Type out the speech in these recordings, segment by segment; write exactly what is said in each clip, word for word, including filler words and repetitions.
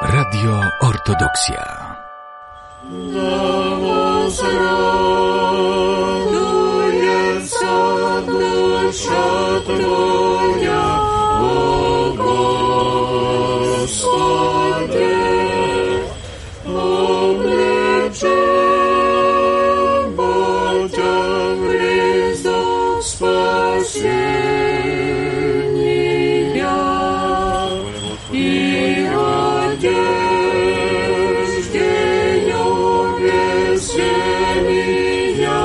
Radio Ortodoksja. Dusza Twoja, o Gospodzie, oblecze Bocia w ryzo spasienia i odzieżdzieniu weselienia.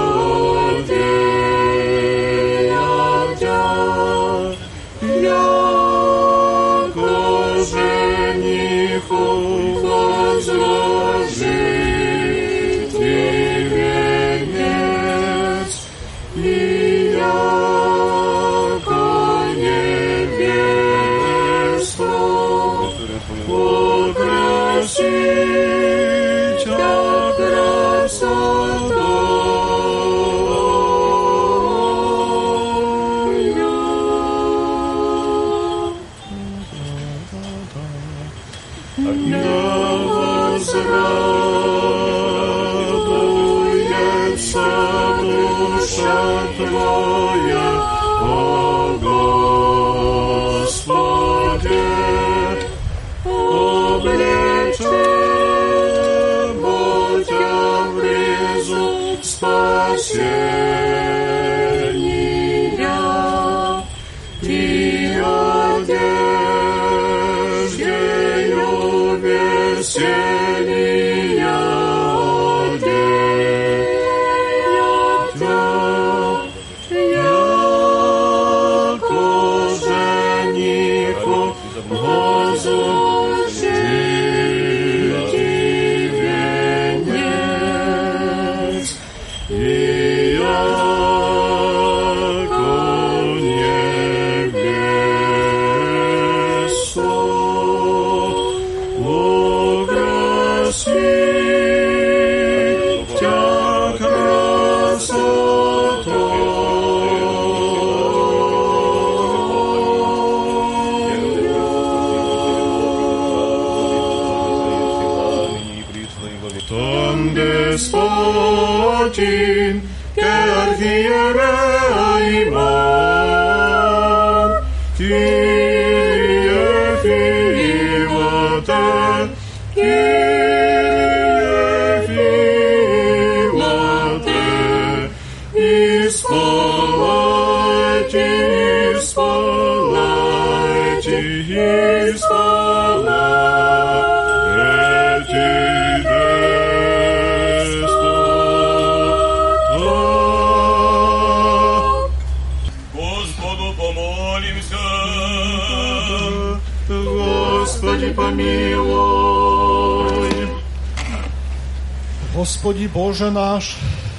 Господи Боже наш,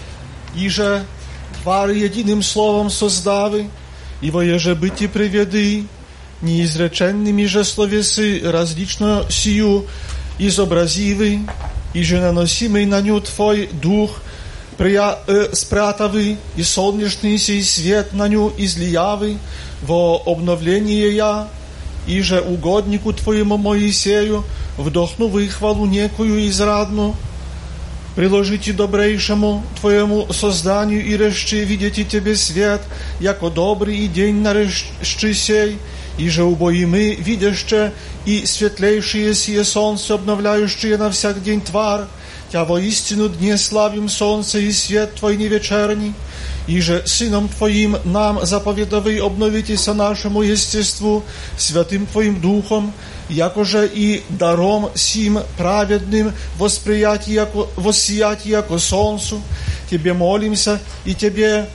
иже твар единым словом создавы, и воеже быти приведы, неизреченными же словесы различно сию изобразивы, иже наносимый на ню Твой дух прия, э, спрятавы, и солнечный сей свет на ню излиявы во обновление я, иже угоднику Твоему Моисею вдохнувы хвалу некую израдну, приложите добрейшему Твоему созданию и реши видите Тебе свет, яко добрый и день нарещи сей, и же убои мы, видяще и светлейшие сие солнце, обновляющие на всяк день твар, Тя воистину дне славим солнце и свет Твой невечерний, и же Сыном Твоим нам заповедовый обновитеся нашему естеству святым Твоим Духом, якоже и даром сим праведным восприятие, яко, воссиять яко солнцу. Тебе молимся и Тебе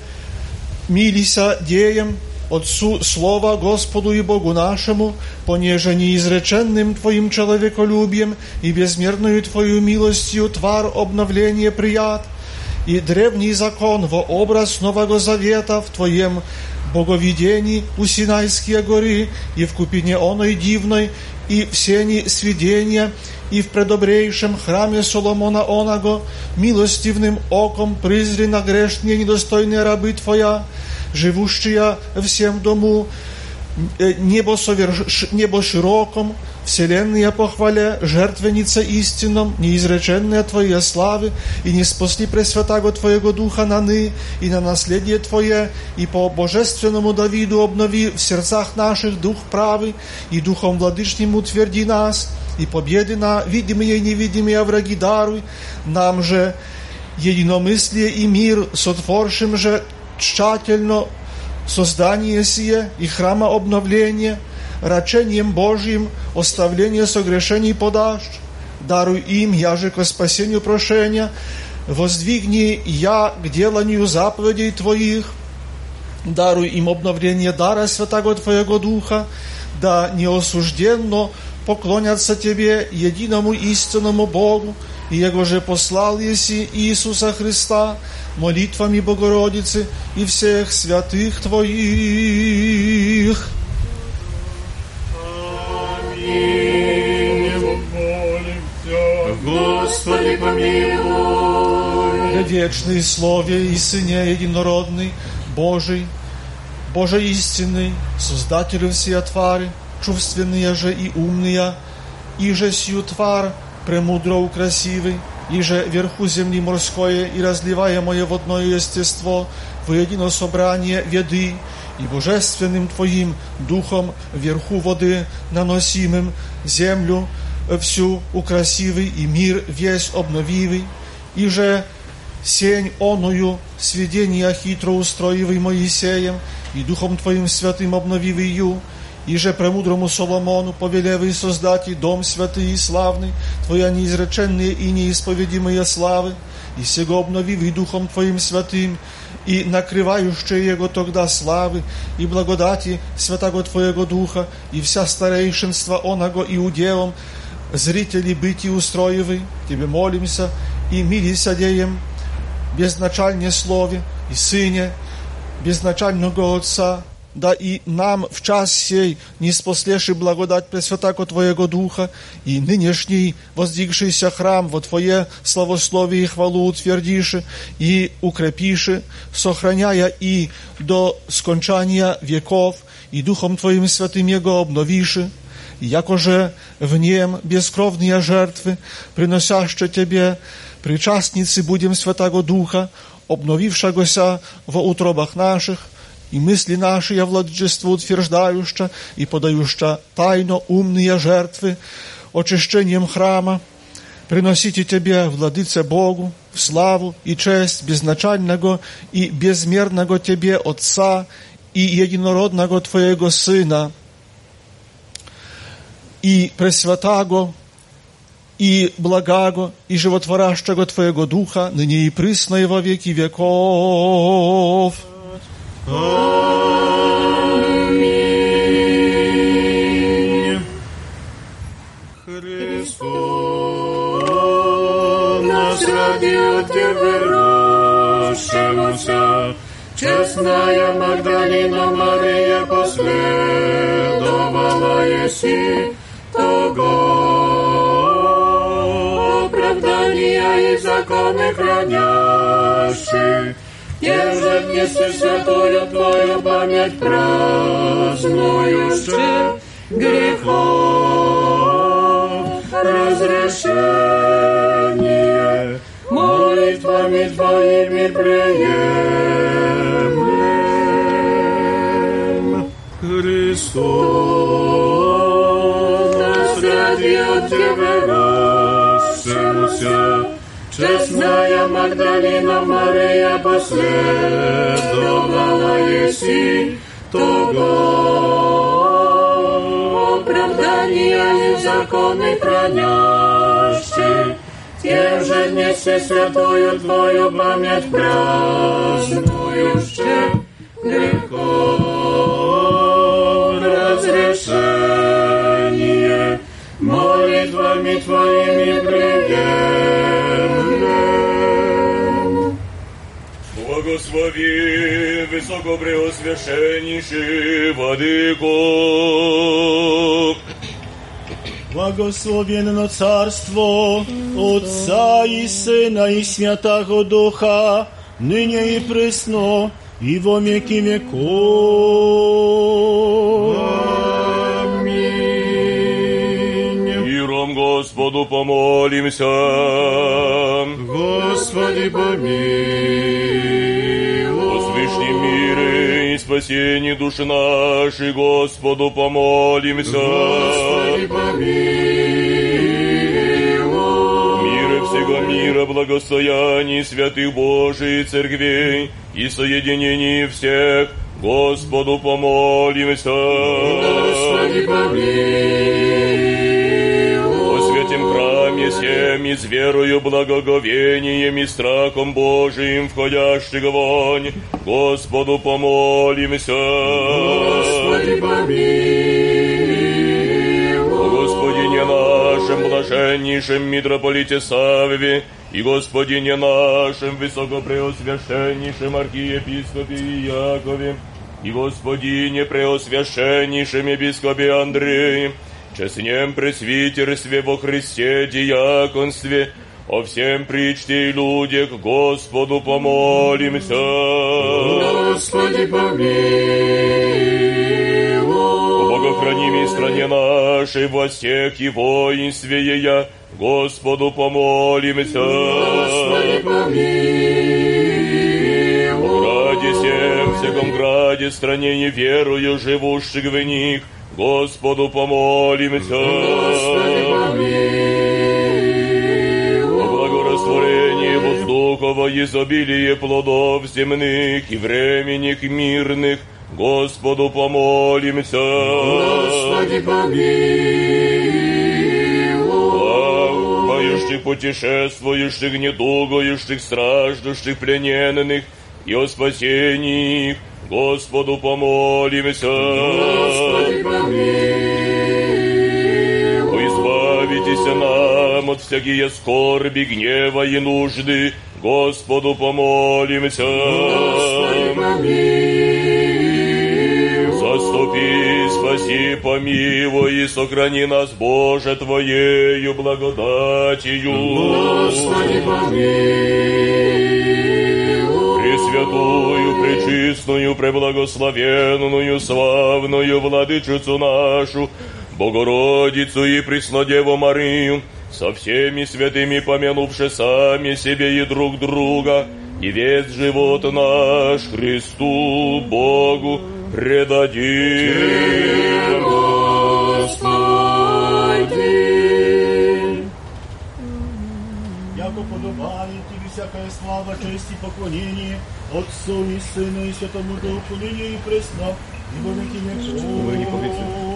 милися деем, Отцу Слова Господу и Богу нашему, понеже неизреченным Твоим человеколюбием и безмерную Твою милостью твар обновления прият, и древний закон во образ Нового Завета в Твоем боговидении у Синайские горы и в купине оной дивной, и в сени свидения, и в предобрейшем храме Соломона оного, милостивным оком призри на грешные недостойные рабы Твоя, живущие всем дому небо, соверш... небо широком, вселенная похваля, жертвенница истинном, неизреченная Твоя славы, и не спасли Пресвятаго Твоего Духа наны, и на наследие Твое, и по божественному Давиду обнови в сердцах наших дух правый, и Духом Владычным утверди нас, и победы на видимые и невидимые враги даруй, нам же единомыслие и мир, сотворшим же тщательно создание сие и храма обновления, рачением Божьим оставление согрешений подашь, даруй им, яже ко спасению прошения, воздвигни я к деланию заповедей Твоих, даруй им обновление дара Святаго Твоего Духа, да неосужденно поклонятся Тебе, единому истинному Богу, и Его же послал еси Иисуса Христа, молитвами Богородицы и всех святых Твоих. Аминь. Господи, помилуй. Вечный Слове и Сыне Единородный, Божий, Боже истинный, Создателю всея твари, чувственные же и умные, и же сию тварь премудро красивый, и же верху земли морское и разливаемое водное естество в едино собрание веды, и божественным Твоим Духом вверху воды наносимым землю всю украсивый и мир весь обновивый, и же сень оную сведения хитро устроивый Моисеем, и Духом Твоим святым обновивый ю, и же премудрому Соломону повелевый создать и дом святый и славный, Твоя неизреченные и неисповедимые славы, и сего обновивый Духом Твоим святым, и накрывающие Его тогда славы и благодати Святаго Твоего Духа, и вся старейшинство оного и уделом, зрители быти устроивы, Тебе молимся, и мили содеем, безначальне Слове и Сыне, безначального Отца, да и нам в час сей не спослеши благодать Пресвятаго Твоего Духа, и нынешний воздвигшийся храм во Твое славословие и хвалу утвердиши и укрепиши, сохраняя и до скончания веков, и Духом Твоим святым Его обновиши, якоже в нем бескровные жертвы, приносяще Тебе, причастницы будем Святаго Духа, обновившегося во утробах наших, и мысли наши я владычество утверждающа и подающа тайно умные жертвы очищением храма, приносите Тебе, Владыце Богу, славу и честь безначального и безмерного Тебе Отца и единородного Твоего Сына, и пресвятаго, и благаго, и животворящего Твоего Духа, ныне и присно и во веки веков. Аминь. Христос нас ради Тебя рожшемуся, честная Магдалина Мария последовала еси того оправдания и законы хранящих. Ежедневно святую Твою память празднующе, грехов разрешение молитвами Твоими приемлем. Христос нас ради от Тебя рожшемуся, честная Магдалина Мария последовала еси того оправдания и законы хранящих. Ежедневно святую Твою память празднующе, грехов разрешение молитвами Твоими приемлем. Благослови высокопреосвященнейший Владыко. Благословенно Царство Отца и Сына и Святаго Духа, ныне и пресно, и во веки веков. Господу помолимся. Господи, помилуй. О свышнем мире и спасении души нашей, Господу помолимся. Господи, помилуй. Мира всего мира, благостоянии святых Божиих церквей и соединении всех, Господу помолимся. Господи, помилуй. О святем храме сем и с верою, благоговением и страхом Божиим входящих вонь, Господу помолимся. Господи, помилуй. О Господине нашем, блаженнейшем митрополите Савве, и Господине нашем, высокопреосвященнейшем архиепископе Иакове, и Господине преосвященнейшем епископе Андрее, честнем пресвитерстве во Христе диаконстве, о всем причте и людях, Господу помолимся. Господи, помилуй. О богохранимой стране нашей, властях и воинстве ея, Господу помолимся. Господи, помилуй. О граде всем, всяком граде, стране и верою живущих в них, Господу помолимся. Господи, помилуй. О благорастворении воздухова, изобилие плодов земных и временных мирных, Господу помолимся. Господи, помилуй. Плавающих, путешествующих, недугующих, страждущих, плененных, и о спасении их, Господу помолимся. Господи, помилуй. О избавитесь нам от всякие скорби, гнева и нужды, Господу помолимся. Господи, помилуй. Заступи, спаси, помилуй и сохрани нас, Боже, Твоею благодатью. Господи, помилуй. Пресвятую, пречистную, преблагословенную, славную Владычицу нашу, Богородицу и Преснодеву Марию, со всеми святыми помянувши сами себе и друг друга, и весь живот наш Христу Богу предадим. Господи. Яко подобает Тебе всякая слава, честь и поклонение Отцу и Сыну и Святому Духу, ныне и пресно, и во веки веков.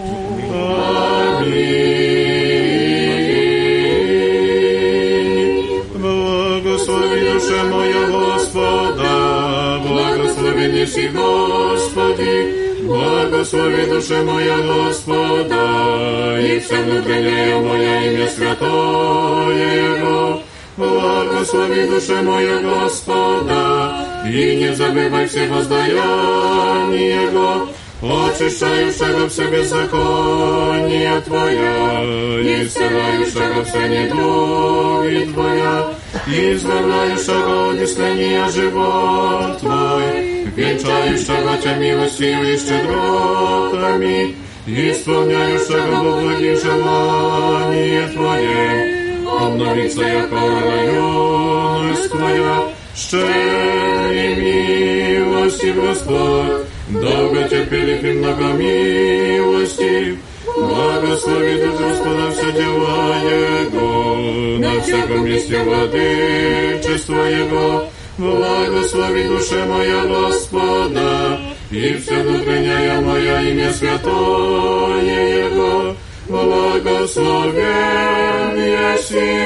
Аминь. Благослови душа моя Господа, благослови неси Господи, благослови душа моя Господа, и вся внутренняя моя имя святое Его. Благослови душа моя Господа, и не забывай все воздаяния Его, очищающего все беззакония Твоя, и исцеляющего все недуги Твоя, и избавляющего от искления живот Твой, венчающего Тебя милостью и щедротами, исполняющего во благих желание Твое, обновится яко юность Твоя, щедрый милостив Господь, долготерпелив и многомилостив, благослови дух Господа все дела Его, на всяком месте владычества Его, благослови душа моя Господа, и вся внутренняя моя имя святое Его, благословен еси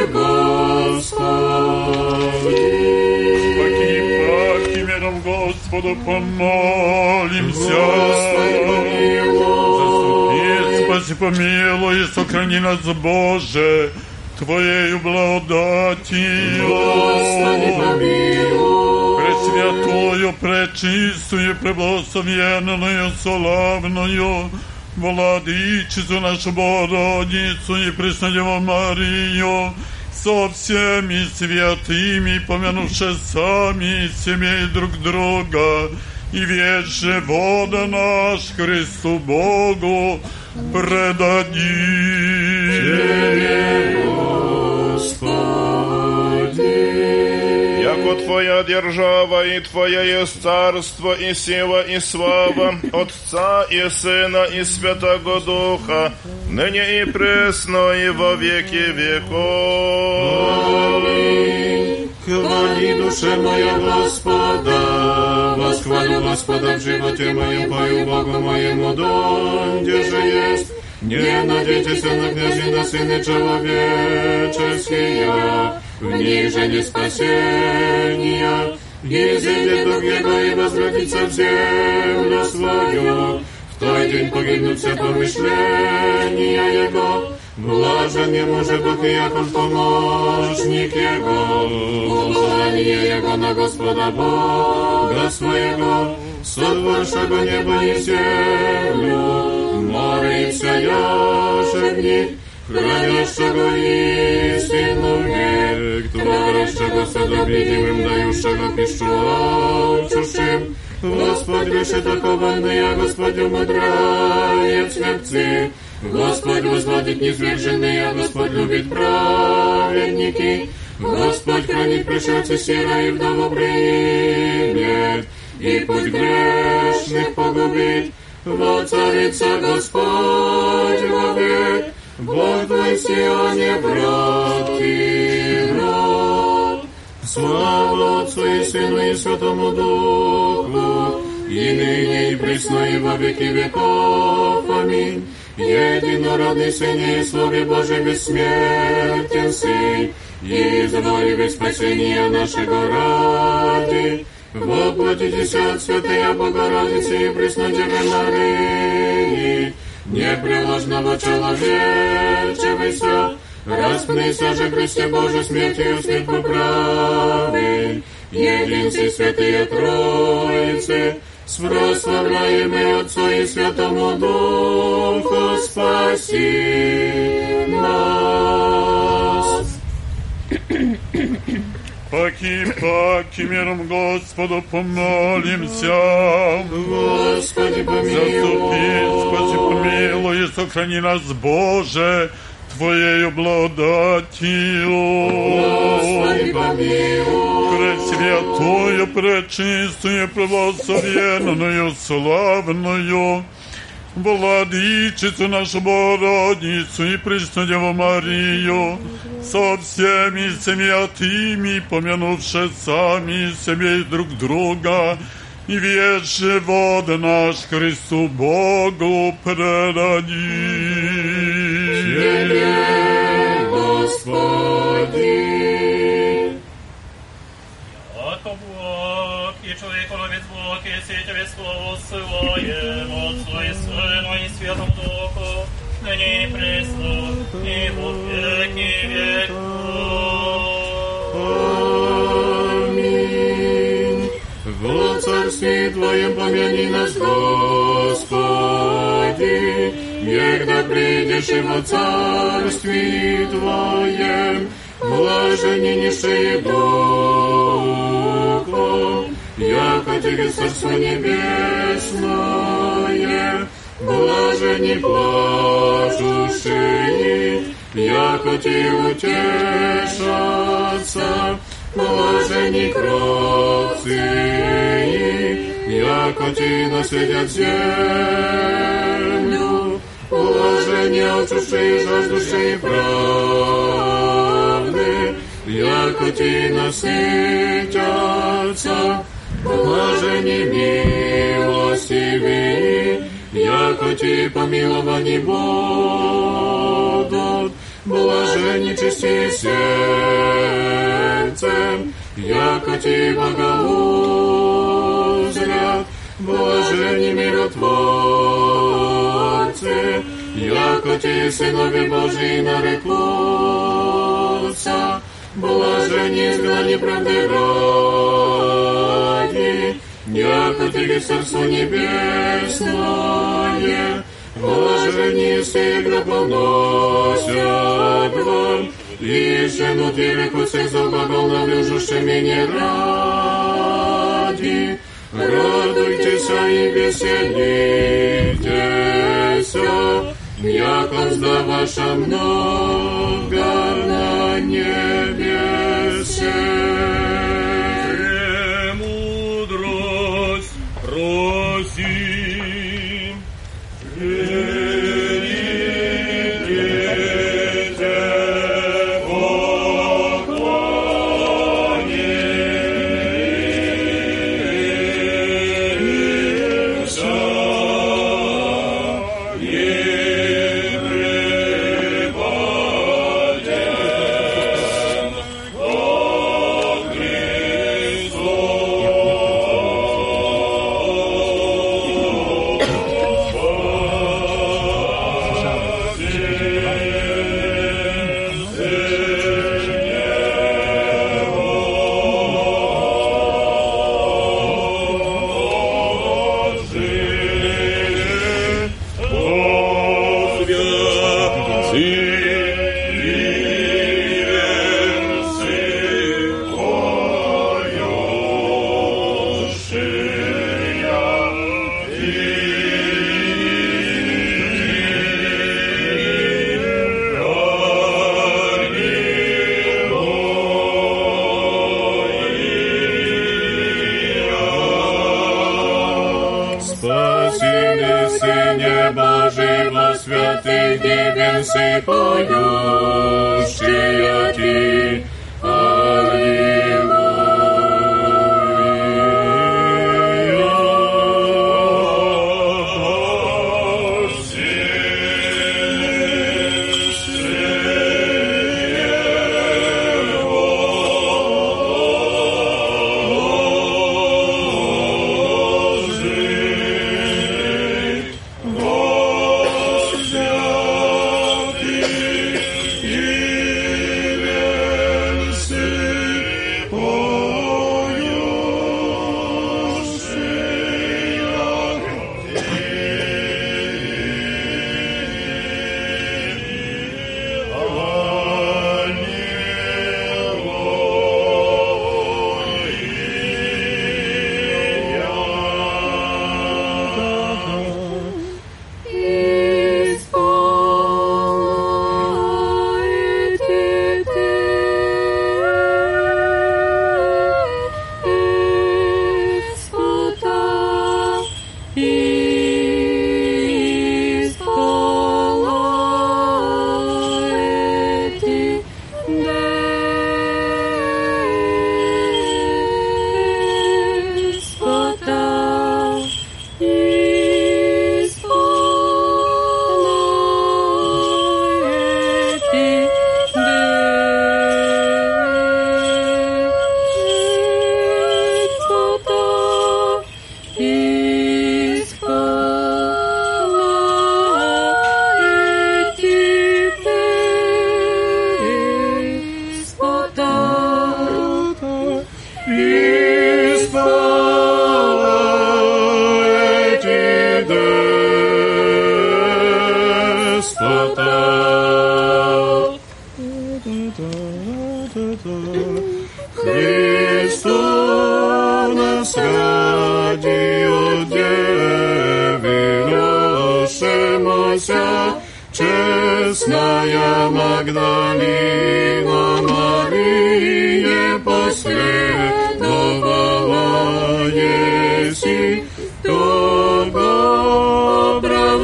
Господи. Паки миром Господу помолимся. Господи, помилуй. Заступи, спаси, помилуй, и сохрани нас, Боже, Твоею благодатью. Господи, помилуй. Пресвятую, пречистую, преблагословенную, славную Владычицу нашу Богородицу и Преснодеву Марию, со всеми святыми, помянувши сами себе и друг друга, и весь живот наш Христу Богу предадим. яко Твоя держава и Твоя есть царство и сила и слава Отца и Сына и Святого Духа, ныне и пресно и во веки веков. Аминь. Хвали душе моя Господа, восхвалю Господа в животе моем, пою Богу моему, донде же есть. Не надейтесь на князей, на сыны человеческие, в них же не спасения. Изыдет дух его и возвратится в землю свою, в той день погибнут все помышления его. Блажен ему же Бог и Яков помощник его, упование его на Господа Бога своего, сотворшего небо и землю, море и вся яше в них, хранящего истину век, творящего садом видимым, дающего пищу алчущим. Господь выше такованный, а Господь умудряет смерти. Господь возводит низверженные, а Господь любит праведники. Господь хранит пришельца сира и вдову примет, и путь грешных погубит. Воцарится Господь вовек, Бог твой в Сионе, брат и брат. Слава Отцу и Сыну и Святому Духу, и ныне и присно и во веки веков. Аминь. Единородный Сын и Слове Божий бессмертен Сын, и изволи спасения нашего ради. Воплотитесь от Святая Богородицы и Преснодевы Марии, непреложного человечевися, распнися же Христе Божий смертью смерть поправи, единцы святые Троицы, с прославляемый Отцу и Святому Духу, спаси нас. Паки, паки, миром Господу помолимся. Господи, помилуй. Заступи, спаси, помилуй, и сохрани нас, Боже, Твоею благодатью. Господи, помилуй. Пресвятую, пречистую, преблагословенную, славную, Владычицу нашу Богородицу и пресную Деву Марию, со всеми святыми, помянувши сами себе и друг друга, и весь живот наш Христу Богу предадим. Тебе, Господи. Яко Бог и человеколюбец Бог, и Тебе слово ссылаем, Отцу и Сыну и Святому Духу, ныне и пресно, и во веки веков. Аминь. Во царстве Твоем помяни нас, Господи, егда придешь и во царстве Твоем, блаженнейшие Духом, яко Тебе царство небесное, блажени плачущие, яко Те утешатся, блажени кроткие, яко Те наследят землю, блажени алчущие, жаждущие правды, яко Те насытятся, блажени милостивые, яко Те помиловани будут, блажени чисти сердцем, яко Те благоузрят, блажени миротворцы, яко Те сынови Божии нарекутся, блажени изгнани правды ради, яко Тебе царство небесное, блажени всегда поносят вам, и жену Тебе всех заглагол навлюжущими не ради. Радуйтесь и веселитесь, яко мзда ваша много на небесе. Святых дивенцы поющие Ти. Честная Магдалина Мария последовала еси того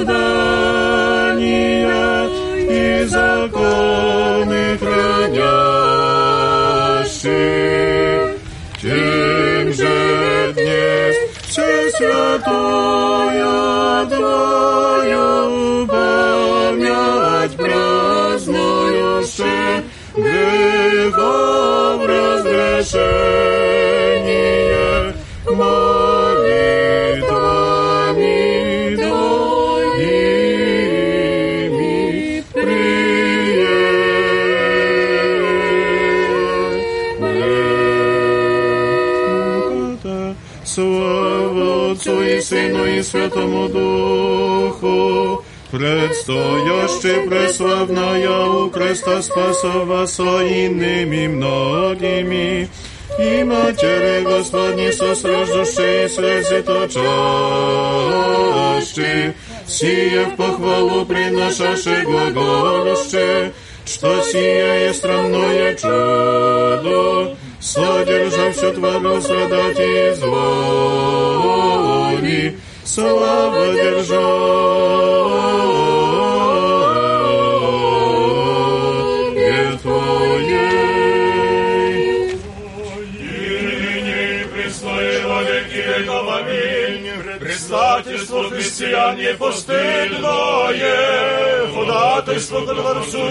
оправдания и законы хранящих. Тем же днес все святую Твою память празднующе, грехов разрешение молитвами Твоими приемлем. Слава Отцу и Сыну и Святому Духу, предстояще преславная у креста Спасова со иными многими, и Матери Господни состраждущие слезы точащие, сие в похвалу приношаше глаголюще, что сие есть странное чудо, содержа все твору страдать и звони, слава державе Твоей. Ныне пресное во веки веков, аминь. Предстательство христиан непостыдное, ходатайство ко Творцу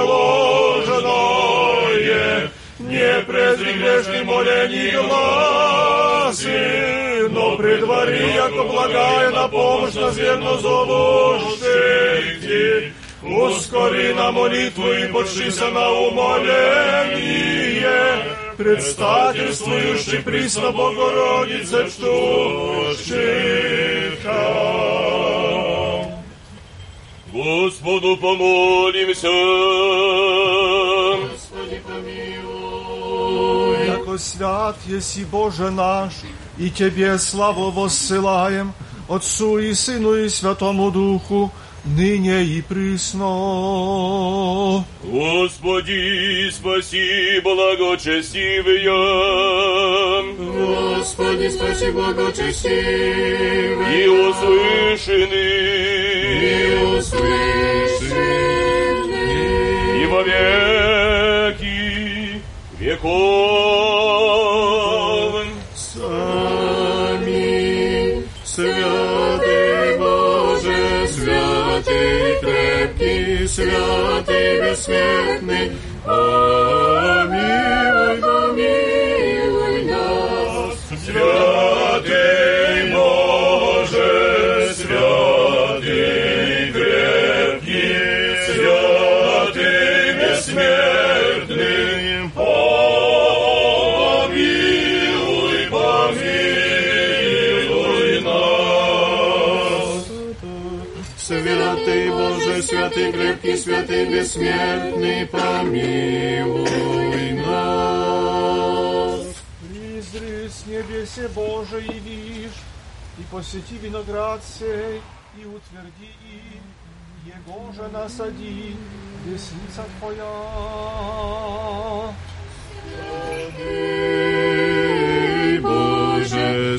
непреложенное, не презри грешный молений гласи, но предвари, яко благая на помощь назверно зовущих. Ускори на молитву и подшися на умоление, предстательствующий присно Богородице ждущих. Господу помолимся. Господи, помилуй. Яко свят еси Боже наш, и Тебе славу воссылаем, Отцу и Сыну и Святому Духу, ныне и присно. Господи, спаси благочестивые. Господи, спаси благочестивые. И услышаны. И услышаны. И во веки веков. Аминь. Святый Боже, святый крепкий, святый бессмертный, помилуй, помилуй нас. Святый Боже, святый крепкий, святый бессмертный, помилуй, помилуй нас. Святый Боже, святый крепкий, святый бессмертный, помилуй нас. Призри с небесе Боже и вишь, и посети виноград сей, и утверди им, его же насади, десница Твоя. Святый Боже,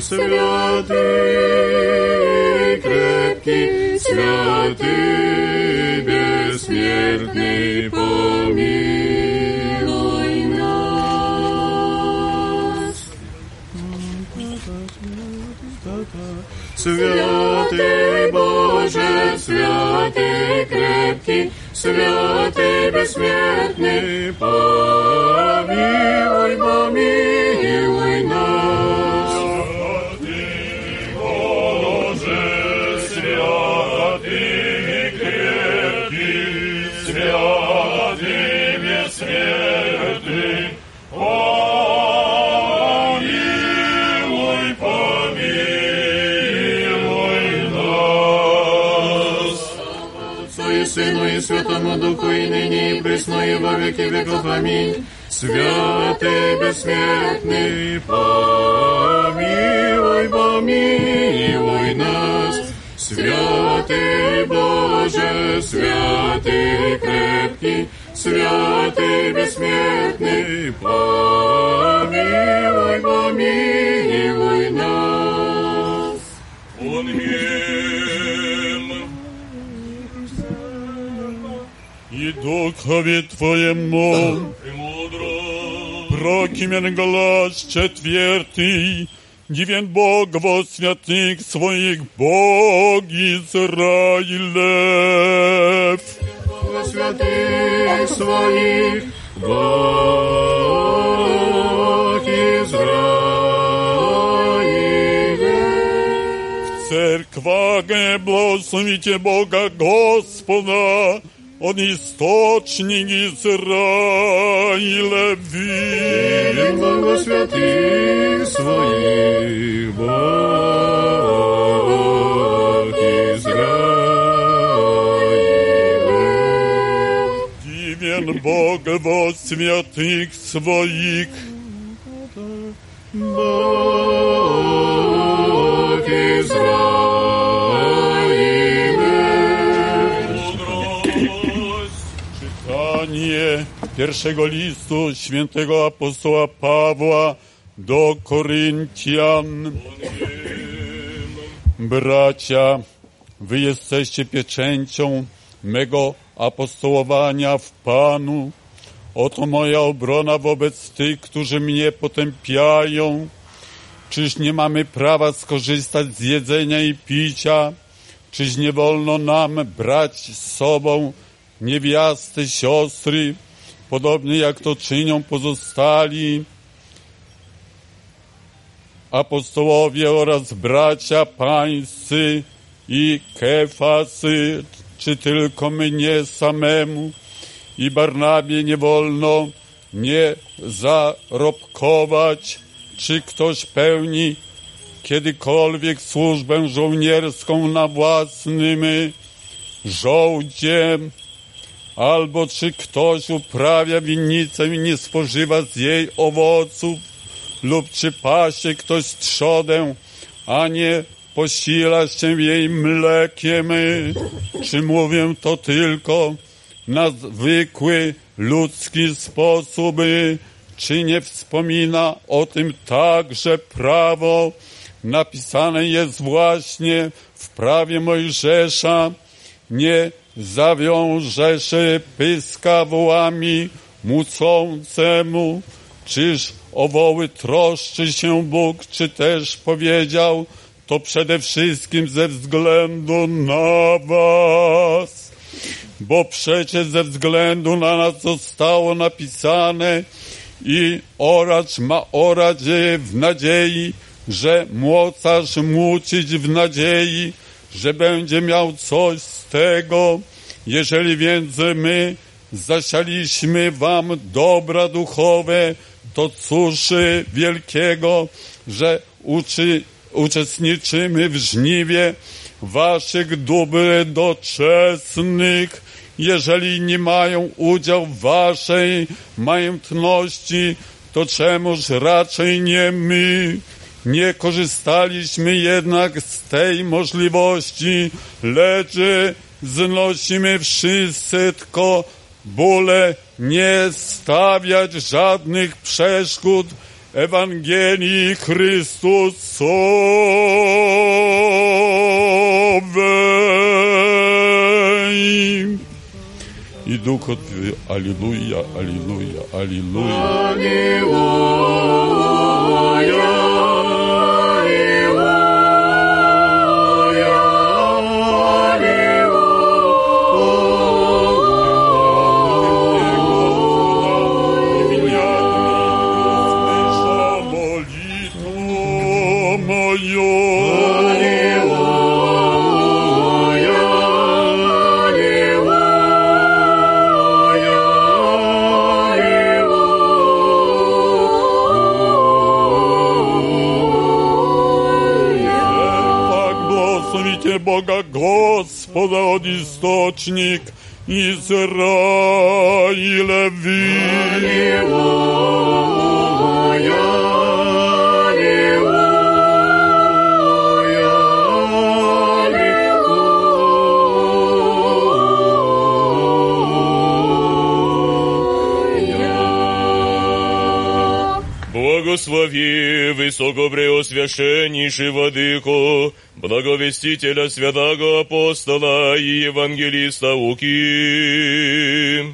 святый крепкий, святый бессмертный, помилуй нас. Святый Боже, святый крепкий, святый бессмертный, помилуй, помилуй нас. Святый Боже, святый крепкий, святый бессмертный, помилуй, помилуй нас. Отцу и Сыну и Святому Духу, и ныне, и присно, и во веки веков. Аминь. Святый бессмертный, помилуй, помилуй нас. Святый Боже, святый крепкий, святый бессмертный, помилуй, помилуй нас. Аминь. И Духове Твоему прокимен глаз четвертый, дивен Бог во святых своих, Бог Израилев. Во святых своих, Бог Израилев. В церквах благословите Бога Господа, Он источник Израилев. Дивен Бог во святых своих, Бог Израилев. Дивен Бог во святых своих, Бог Izrailев. Czytanie pierwszego listu świętego apostoła Pawła do Koryntian. Bracia, wy jesteście pieczęcią mego apostołowania w Panu. Oto moja obrona wobec tych, którzy mnie potępiają. Czyż nie mamy prawa skorzystać z jedzenia i picia? Czyż nie wolno nam brać z sobą niewiasty, siostry, podobnie jak to czynią pozostali apostołowie oraz bracia pańscy i Kefasy, czy tylko mnie samemu i Barnabie nie wolno nie zarobkować? Czy ktoś pełni kiedykolwiek służbę żołnierską na własnym żołdziem, albo czy ktoś uprawia winnicę i nie spożywa z jej owoców, lub czy pasie ktoś trzodę, a nie posila się jej mlekiem, czy mówię to tylko na zwykły ludzki sposób, czy nie wspomina o tym także prawo? Napisane jest właśnie w prawie Mojżesza: nie zawiążesz pyska wołami mucącemu. Czyż o woły troszczy się Bóg, czy też powiedział to przede wszystkim ze względu na was? Bo przecież ze względu na nas zostało napisane: i oracz ma orać w nadziei, że młocarz mucić w nadziei, że będzie miał coś z tego. Jeżeli więc my zasialiśmy wam dobra duchowe, to cóż wielkiego, że uczy, uczestniczymy w żniwie waszych dóbr doczesnych. Jeżeli nie mają udział w waszej majętności, to czemuż raczej nie my? Nie korzystaliśmy jednak z tej możliwości, lecz znosimy wszyscy tylko bóle nie stawiać żadnych przeszkód Ewangelii Chrystusowej. I Duch odpowie: Alleluja, Alleluja, Alleluja. Alleluja. Boga Gospoda od istocznik Izrailewi. Alleluja, alleluja, alleluja. Благослови высокопреосвященнейший Владыку, благовестителя святого апостола и евангелиста Луки.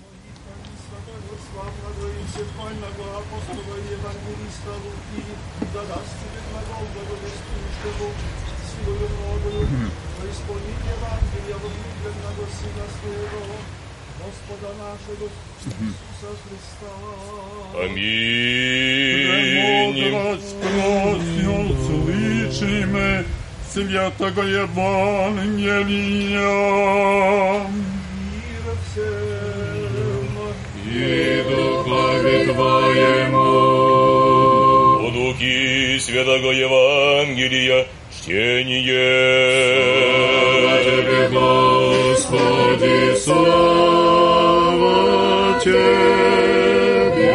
Аминь. Слышим святого Евангелия. Мир всем и духове Твоему. По Луки святого Евангелия чтение. Слава Тебе, Господи, слава Тебе.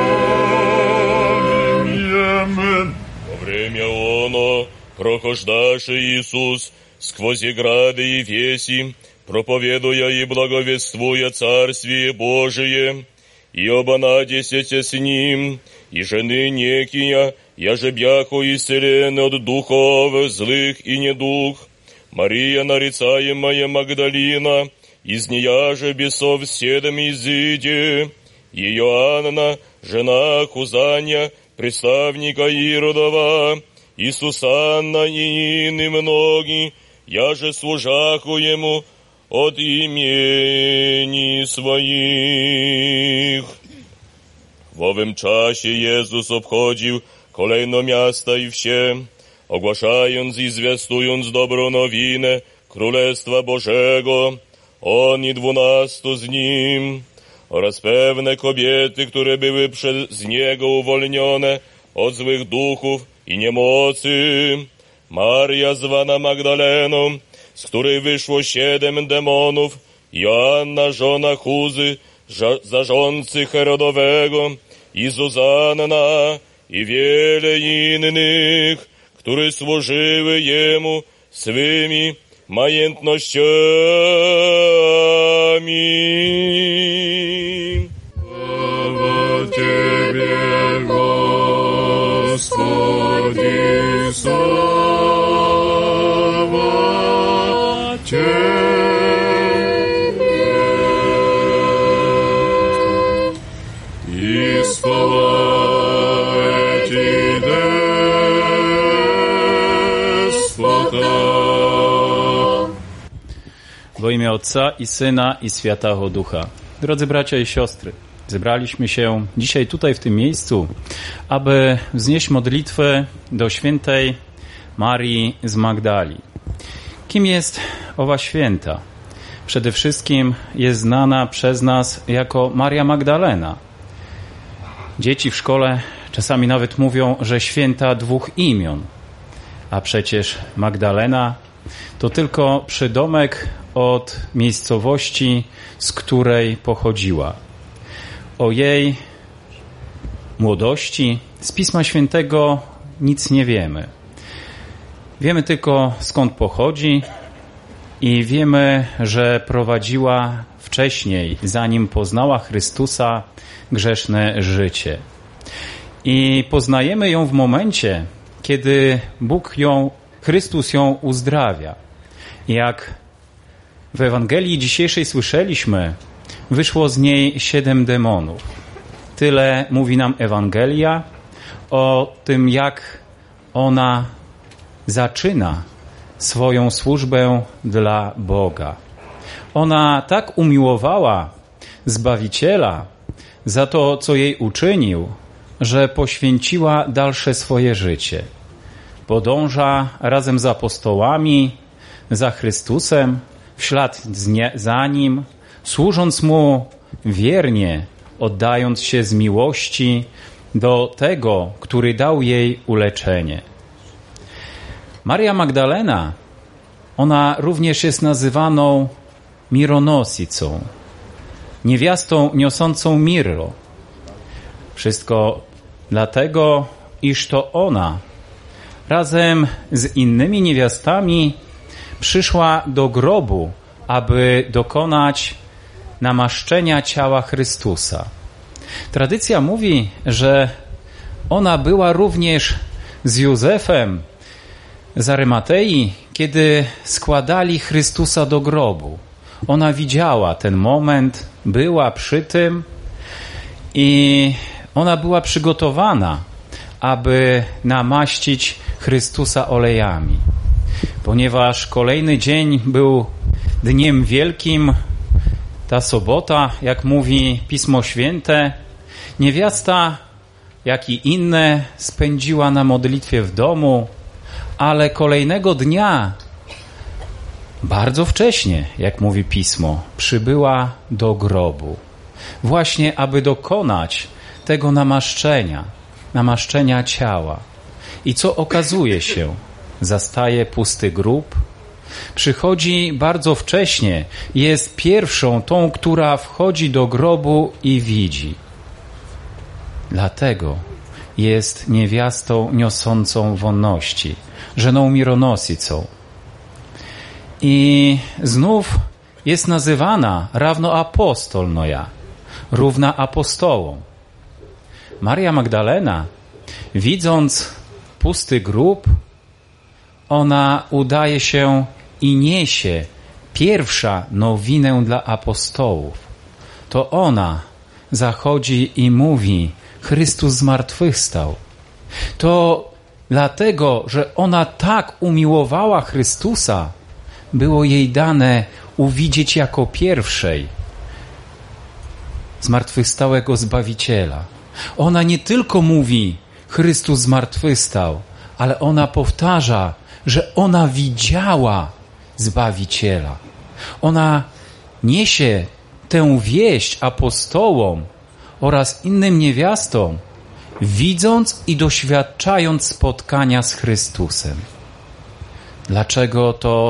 Во время оно прохождаше Иисус сквозь грады Ефеси, проповедуя и благовествуя Царствие Божие, и оба надесете с ним, и жены некия, яже бяху исцелены от духов злых и недух, Мария, нарицаемая Магдалина, из нея же бесов седом изыде, и Иоанна, жена Хузанья, представника Иродова, и Сусанна, и иные многие, я же служаху ему от имени своих. W owym czasie Jezus obchodził kolejno miasta i wsie, ogłaszając i zwiastując dobrą nowinę Królestwa Bożego, on i dwunastu z nim, oraz pewne kobiety, które były przez Niego uwolnione od złych duchów i niemocy. Maria zwana Magdaleną, z której wyszło siedem demonów, Joanna, żona Chuzy, zarządcy Herodowego, i Zuzanna, i wiele innych, które służyły Jemu swymi majętnościami. Sława Ciebie, Господи, sława Ciebie. I spałaj Ci despota. W imię Ojca i Syna i Świętego Ducha. Drodzy bracia i siostry, zebraliśmy się dzisiaj tutaj w tym miejscu, aby wznieść modlitwę do świętej Marii z Magdali. Kim jest owa święta? Przede wszystkim jest znana przez nas jako Maria Magdalena. Dzieci w szkole czasami nawet mówią, że święta dwóch imion, a przecież Magdalena to tylko przydomek od miejscowości, z której pochodziła. O jej młodości z Pisma Świętego nic nie wiemy. Wiemy tylko, skąd pochodzi i wiemy, że prowadziła wcześniej, zanim poznała Chrystusa, grzeszne życie. I poznajemy ją w momencie, kiedy Bóg ją, Chrystus ją uzdrawia. Jak w Ewangelii dzisiejszej słyszeliśmy, wyszło z niej siedem demonów. Tyle mówi nam Ewangelia o tym, jak ona zaczyna swoją służbę dla Boga. Ona tak umiłowała Zbawiciela za to, co jej uczynił, że poświęciła dalsze swoje życie. Podąża razem z apostołami za Chrystusem, w ślad za Nim, służąc Mu wiernie, oddając się z miłości do tego, który dał jej uleczenie. Maria Magdalena, ona również jest nazywaną mironosicą, niewiastą niosącą mirro. Wszystko dlatego, iż to ona razem z innymi niewiastami przyszła do grobu, aby dokonać namaszczenia ciała Chrystusa. Tradycja mówi, że ona była również z Józefem z Arymatei, kiedy składali Chrystusa do grobu. Ona widziała ten moment, była przy tym i ona była przygotowana, aby namaścić Chrystusa olejami. Ponieważ kolejny dzień był dniem wielkim, ta sobota, jak mówi Pismo Święte, niewiasta, jak i inne, spędziła na modlitwie w domu, ale kolejnego dnia, bardzo wcześnie, jak mówi Pismo, przybyła do grobu. Właśnie, aby dokonać tego namaszczenia, namaszczenia ciała. I co okazuje się? Zastaje pusty grób, przychodzi bardzo wcześnie, jest pierwszą tą, która wchodzi do grobu i widzi. Dlatego jest niewiastą niosącą wonności, żeną mironosicą. I znów jest nazywana rawnoapostolnoja, równa apostołom. Maria Magdalena, widząc pusty grób, ona udaje się i niesie pierwsza nowinę dla apostołów. To ona zachodzi i mówi: Chrystus zmartwychwstał. To dlatego, że ona tak umiłowała Chrystusa, było jej dane uwidzieć jako pierwszej zmartwychwstałego Zbawiciela. Ona nie tylko mówi: Chrystus zmartwychwstał, ale ona powtarza, że ona widziała Zbawiciela. Ona niesie tę wieść apostołom oraz innym niewiastom, widząc i doświadczając spotkania z Chrystusem. Dlaczego to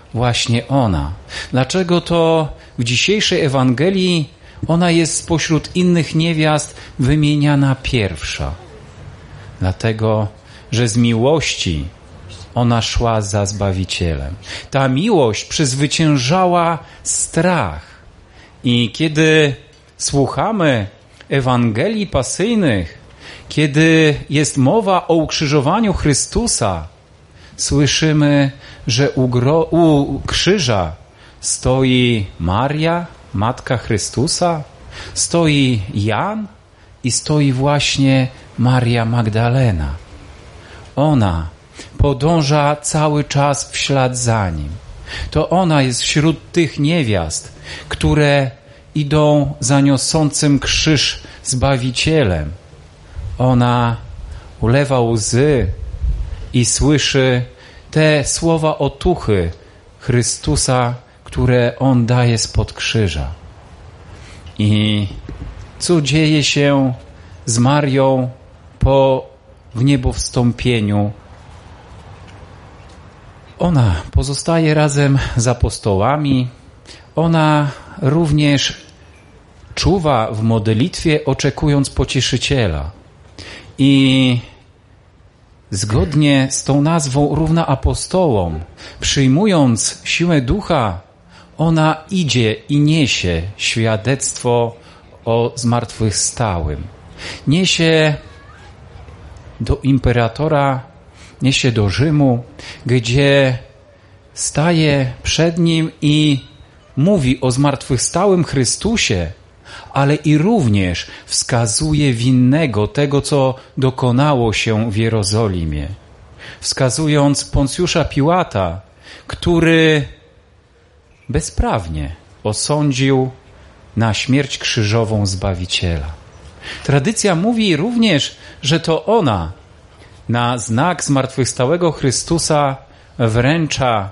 właśnie ona? Dlaczego to w dzisiejszej Ewangelii ona jest spośród innych niewiast wymieniana pierwsza? Dlatego, że z miłości ona szła za Zbawicielem. Ta miłość przezwyciężała strach. I kiedy słuchamy Ewangelii pasyjnych, kiedy jest mowa o ukrzyżowaniu Chrystusa, słyszymy, że u, gro, u krzyża stoi Maria, Matka Chrystusa, stoi Jan i stoi właśnie Maria Magdalena. Ona podąża cały czas w ślad za Nim. To ona jest wśród tych niewiast, które idą za niosącym krzyż Zbawicielem. Ona ulewa łzy i słyszy te słowa otuchy Chrystusa, które On daje spod krzyża. I co dzieje się z Marią po wniebowstąpieniu? Ona pozostaje razem z apostołami. Ona również czuwa w modlitwie, oczekując Pocieszyciela. I zgodnie z tą nazwą równa apostołom, przyjmując siłę Ducha, ona idzie i niesie świadectwo o zmartwychwstałym. Niesie do imperatora, niesie do Rzymu, gdzie staje przed nim i mówi o zmartwychwstałym Chrystusie, ale i również wskazuje winnego tego, co dokonało się w Jerozolimie. Wskazując Poncjusza Piłata, który bezprawnie osądził na śmierć krzyżową Zbawiciela. Tradycja mówi również, że to ona na znak zmartwychwstałego Chrystusa wręcza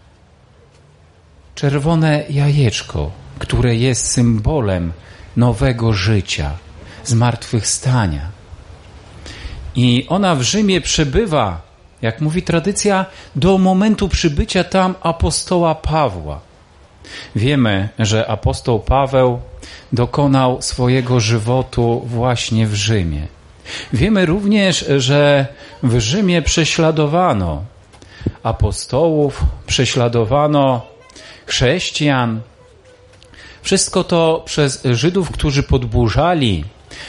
czerwone jajeczko, które jest symbolem nowego życia, zmartwychwstania. I ona w Rzymie przebywa, jak mówi tradycja, do momentu przybycia tam apostoła Pawła. Wiemy, że apostoł Paweł dokonał swojego żywotu właśnie w Rzymie. Wiemy również, że w Rzymie prześladowano apostołów, prześladowano chrześcijan. Wszystko to przez Żydów, którzy podburzali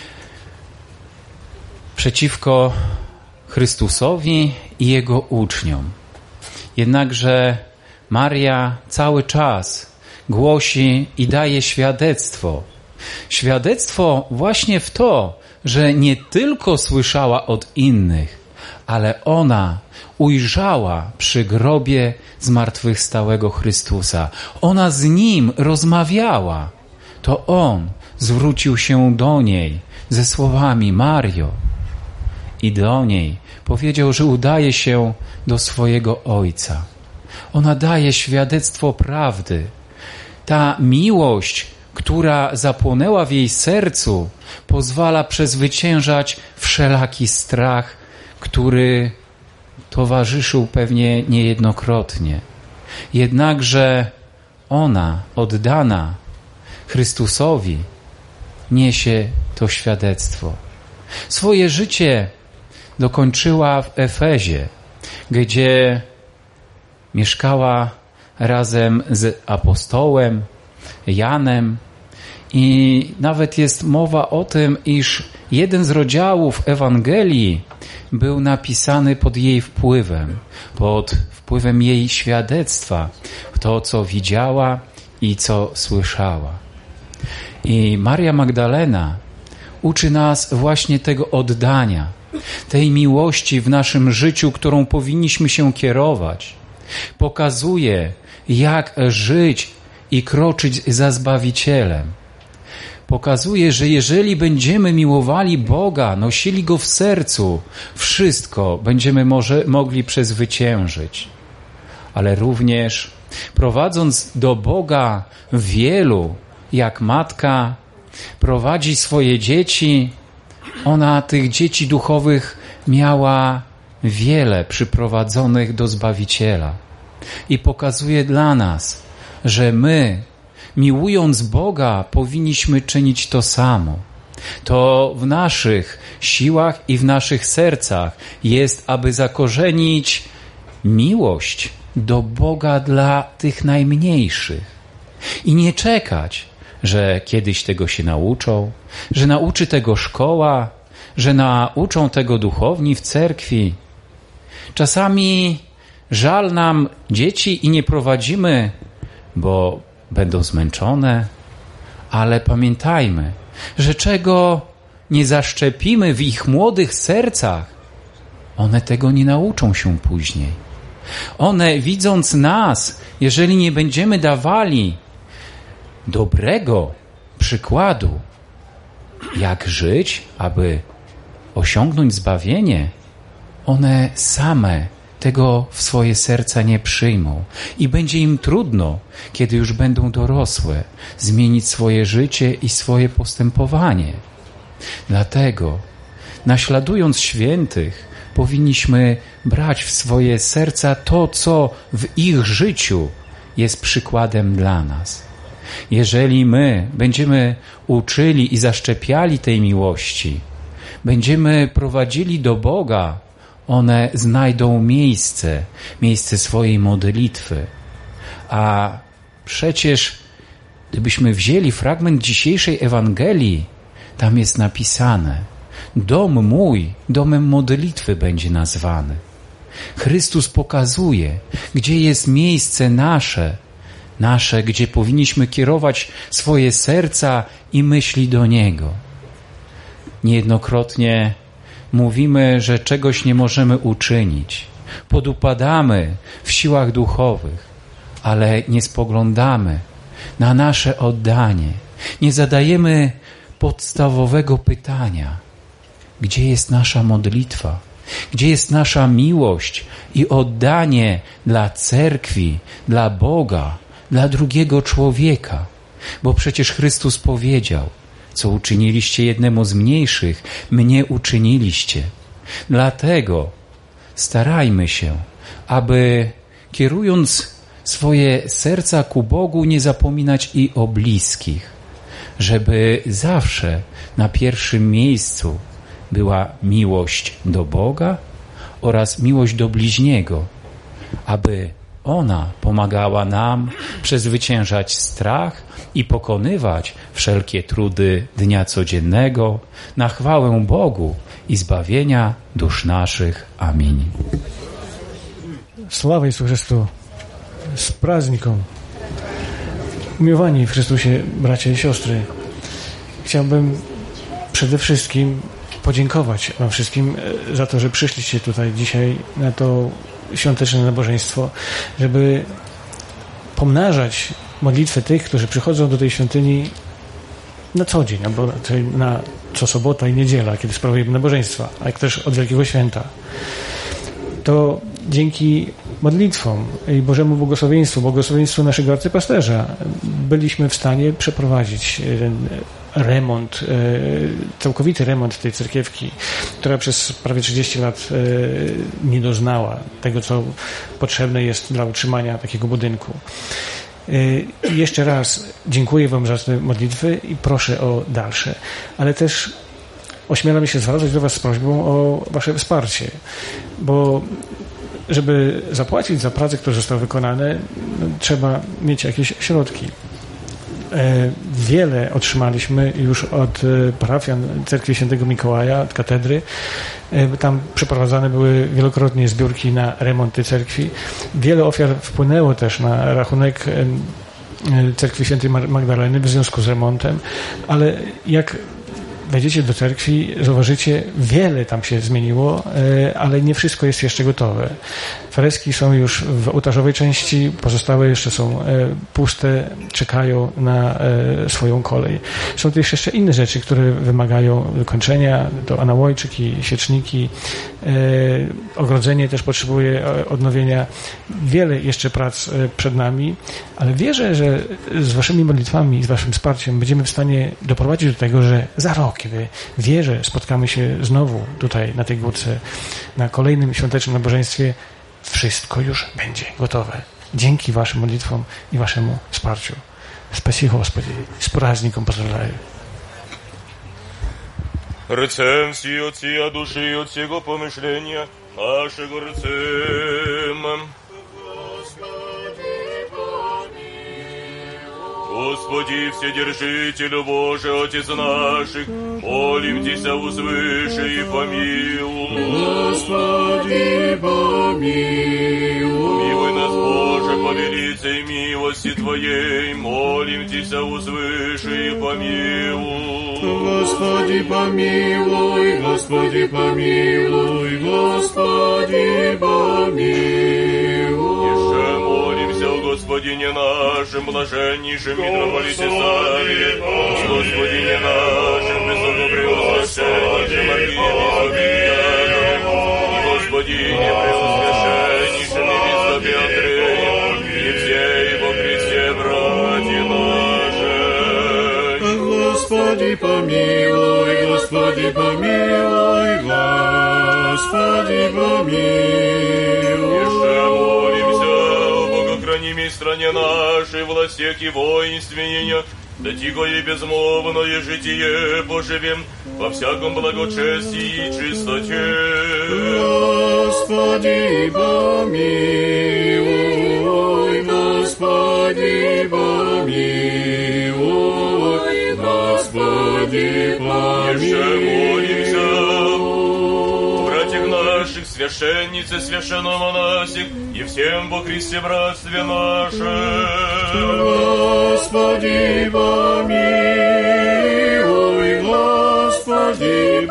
przeciwko Chrystusowi i Jego uczniom. Jednakże Maria cały czas głosi i daje świadectwo. Świadectwo właśnie w to, że nie tylko słyszała od innych, ale ona ujrzała przy grobie zmartwychwstałego Chrystusa. Ona z Nim rozmawiała. To On zwrócił się do niej ze słowami: Mario. I do niej powiedział, że udaje się do swojego Ojca. Ona daje świadectwo prawdy. Ta miłość, która zapłonęła w jej sercu, pozwala przezwyciężać wszelaki strach, który towarzyszył pewnie niejednokrotnie. Jednakże ona, oddana Chrystusowi, niesie to świadectwo. Swoje życie dokończyła w Efezie, gdzie mieszkała razem z apostołem Janem i nawet jest mowa o tym, iż jeden z rozdziałów Ewangelii był napisany pod jej wpływem, pod wpływem jej świadectwa, to, co widziała i co słyszała. I Maria Magdalena uczy nas właśnie tego oddania, tej miłości w naszym życiu, którą powinniśmy się kierować. Pokazuje, jak żyć i kroczyć za Zbawicielem. Pokazuje, że jeżeli będziemy miłowali Boga, nosili Go w sercu, wszystko będziemy może, mogli przezwyciężyć. Ale również prowadząc do Boga wielu, jak matka prowadzi swoje dzieci, ona tych dzieci duchowych miała wiele przyprowadzonych do Zbawiciela. i pokazuje dla nas, że my, miłując Boga, powinniśmy czynić to samo. To w naszych siłach i w naszych sercach jest, aby zakorzenić miłość do Boga dla tych najmniejszych i nie czekać, że kiedyś tego się nauczą, że nauczy tego szkoła, że nauczą tego duchowni w cerkwi. Czasami żal nam dzieci i nie prowadzimy, bo będą zmęczone, ale pamiętajmy, że czego nie zaszczepimy w ich młodych sercach, one tego nie nauczą się później. One, widząc nas, jeżeli nie będziemy dawali dobrego przykładu, jak żyć, aby osiągnąć zbawienie, one same tego w swoje serca nie przyjmą i będzie im trudno, kiedy już będą dorosłe, zmienić swoje życie i swoje postępowanie. Dlatego, naśladując świętych, powinniśmy brać w swoje serca to, co w ich życiu jest przykładem dla nas. Jeżeli my będziemy uczyli i zaszczepiali tej miłości, będziemy prowadzili do Boga, one znajdą miejsce, miejsce swojej modlitwy. A przecież, gdybyśmy wzięli fragment dzisiejszej Ewangelii, tam jest napisane: dom mój domem modlitwy będzie nazwany. Chrystus pokazuje, gdzie jest miejsce nasze, nasze, gdzie powinniśmy kierować swoje serca i myśli do Niego. Niejednokrotnie mówimy, że czegoś nie możemy uczynić. Podupadamy w siłach duchowych, ale nie spoglądamy na nasze oddanie. Nie zadajemy podstawowego pytania: gdzie jest nasza modlitwa? Gdzie jest nasza miłość i oddanie dla cerkwi, dla Boga, dla drugiego człowieka? Bo przecież Chrystus powiedział: co uczyniliście jednemu z mniejszych, mnie uczyniliście. Dlatego starajmy się, aby kierując swoje serca ku Bogu, nie zapominać i o bliskich, żeby zawsze na pierwszym miejscu była miłość do Boga oraz miłość do bliźniego, aby ona pomagała nam przezwyciężać strach i pokonywać wszelkie trudy dnia codziennego na chwałę Bogu i zbawienia dusz naszych. Amin. Sława Jezu Chrystu, z prazniką. Umiłowani w Chrystusie bracia i siostry, chciałbym przede wszystkim podziękować wam wszystkim za to, że przyszliście tutaj dzisiaj na to świąteczne nabożeństwo, żeby pomnażać modlitwę tych, którzy przychodzą do tej świątyni na co dzień, albo na co sobota i niedziela, kiedy sprawujemy nabożeństwa, a jak też od Wielkiego Święta. To dzięki modlitwom i Bożemu błogosławieństwu, błogosławieństwu naszego arcypasterza byliśmy w stanie przeprowadzić ten remont, całkowity remont tej cerkiewki, która przez prawie trzydzieści lat nie doznała tego, co potrzebne jest dla utrzymania takiego budynku. I jeszcze raz dziękuję wam za te modlitwy i proszę o dalsze, ale też ośmielam się zwracać do was z prośbą o wasze wsparcie, bo żeby zapłacić za prace, które zostały wykonane, no, trzeba mieć jakieś środki. Wiele otrzymaliśmy już od parafian Cerkwi Świętego Mikołaja, od katedry. Tam przeprowadzane były wielokrotnie zbiórki na remont tej cerkwi. Wiele ofiar wpłynęło też na rachunek Cerkwi Świętej Magdaleny w związku z remontem, ale jak wejdziecie do cerkwi, zauważycie, wiele tam się zmieniło, ale nie wszystko jest jeszcze gotowe. Freski są już w ołtarzowej części, pozostałe jeszcze są puste, czekają na swoją kolej. Są też jeszcze inne rzeczy, które wymagają wykończenia, to anałojczyki, świeczniki, ogrodzenie też potrzebuje odnowienia. Wiele jeszcze prac przed nami, ale wierzę, że z waszymi modlitwami i z waszym wsparciem będziemy w stanie doprowadzić do tego, że za rok, kiedy wierzę, spotkamy się znowu tutaj na tej górce, na kolejnym świątecznym nabożeństwie, wszystko już będzie gotowe. dzięki waszym modlitwom i waszemu wsparciu. Спасибо, Господи. С праздником поздравляю. Рцем всі отці, а душі от всього помишлення нашого рцем. Господи, Вседержителю Божий, Отец наших, молимся узвыше и помилуй. Господи, помилуй. Помилуй нас, Боже, по велицей милости Твоей, молимся узвыше и помилуй. Господи, помилуй, Господи, помилуй, Господи, помилуй. Еще молимся о Господине нашим, блаженнейшим митрополите Савве, Господине нашим, высокопреосвященнейшим архиепископе, Господине преосвященнейшим епископе Андреем, и всей во Христе братья наши. Господи, помилуй, Господи, помилуй, Господи, помилуй. Еще молимся о богохранимой стране нашей, властях и воинстве ее, да тихое и безмолвное житие поживем во всяком благочестии и чистоте. Господи, помилуй, Господи, помилуй, Господи, помилуй. Еще молимся о братьях наших, священнице, священномонасих и всем во Христе братстве наше. Господи, помилуй, Господи,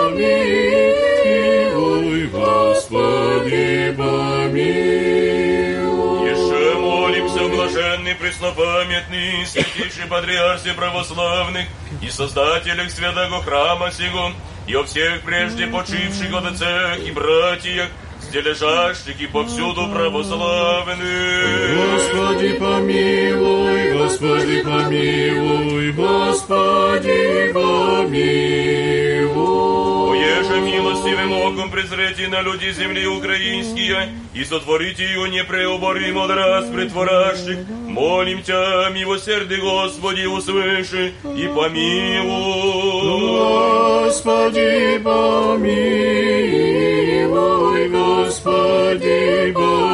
помилуй, Господи, помилуй. Еще молимся, блаженный, преснопамятный, святейший патриарсе православных и создателях святого храма сего, и о всех прежде почивших отцах и братьях, где лежащих и повсюду православных. Господи, помилуй, Господи, помилуй, Господи, помилуй. Оеже милостивым оком презрите на люди земли украинские и сотворите ее непреоборимо от раз притворящих. Молим Тя, милосердный Господи, услыши и помилуй. Господи, помилуй, Господи,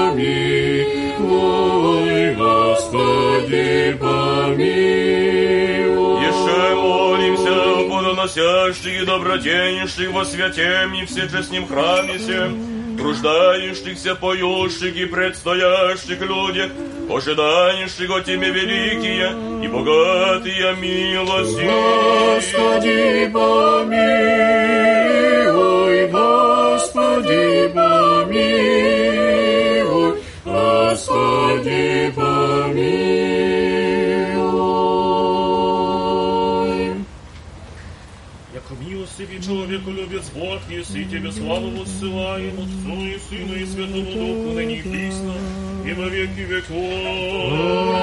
помилуй, Господи, помилуй. Еще молимся о плодоносящих и доброденщих во святем и всечестном храме сем, труждающихся, поющих и предстоящих людях, ожидающих от Тебя великие и богатые милости. Господи, помилуй, Господи, помилуй, Господи, помилуй. Яко милостивый человеку любец Бог, если Тебе славу воссылаем, Отцу и Сыну и Святому Духу, ныне и присно, и во веки веков.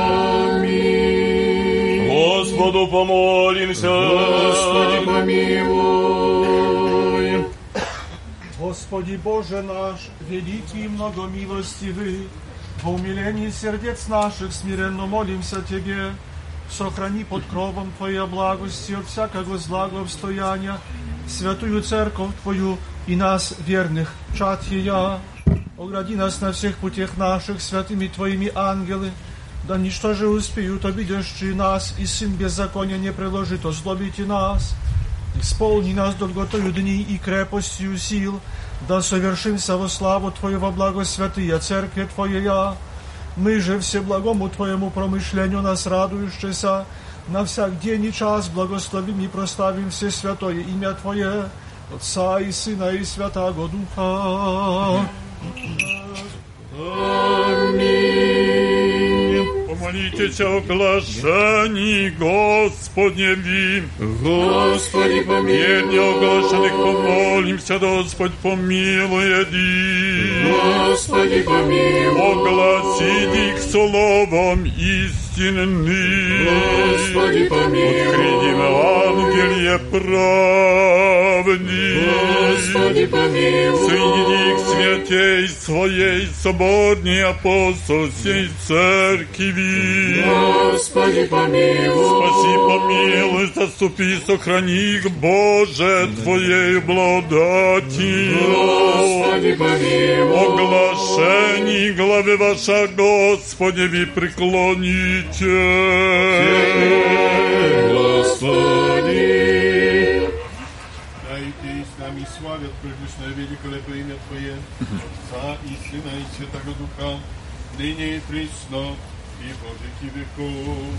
Аминь. Господу помолимся. Господи, помилуй. Господи Боже наш, великий и многомилостивый, во умилении сердец наших смиренно молимся Тебе, сохрани под кровом Твоей благости от всякого злого обстояния святую церковь Твою и нас, верных, чад Ея. Огради нас на всех путях наших святыми Твоими ангелы, да ничто же успеют обидящие нас, и сын беззакония не приложит озлобить и нас. Исполни нас долготою дней и крепостью сил, да совершимся во славу Твою во благо святые церкви Твоя. Мы же всеблагому Твоему промышлению нас радующийся, на всяк день и час благословим и прославим все святое имя Твое, Отца и Сына и Святаго Духа. Аминь. Помолитесь о блажении Господневи. Господи, помилуй. Верни оглашенных помолимся, Господь помилует их. Господи, помилуй. Огласить их словом истинным. Господи, помилуй. Открытим Евангелие правди. Господи, помилуй. Соедини к святей своей соборней апостольской церкви. Господи, помилуй. Спаси, помилуй, заступи, сохрани их, Боже, Твоей благодатью. Господи, помилуй. Оглашений главы ваша, Господи, ви преклоните. Господи. Дайте и с нами славят предвечное великолепное имя Твое, Отца и Сына и Святого Духа, ныне и присно, и во веки веков.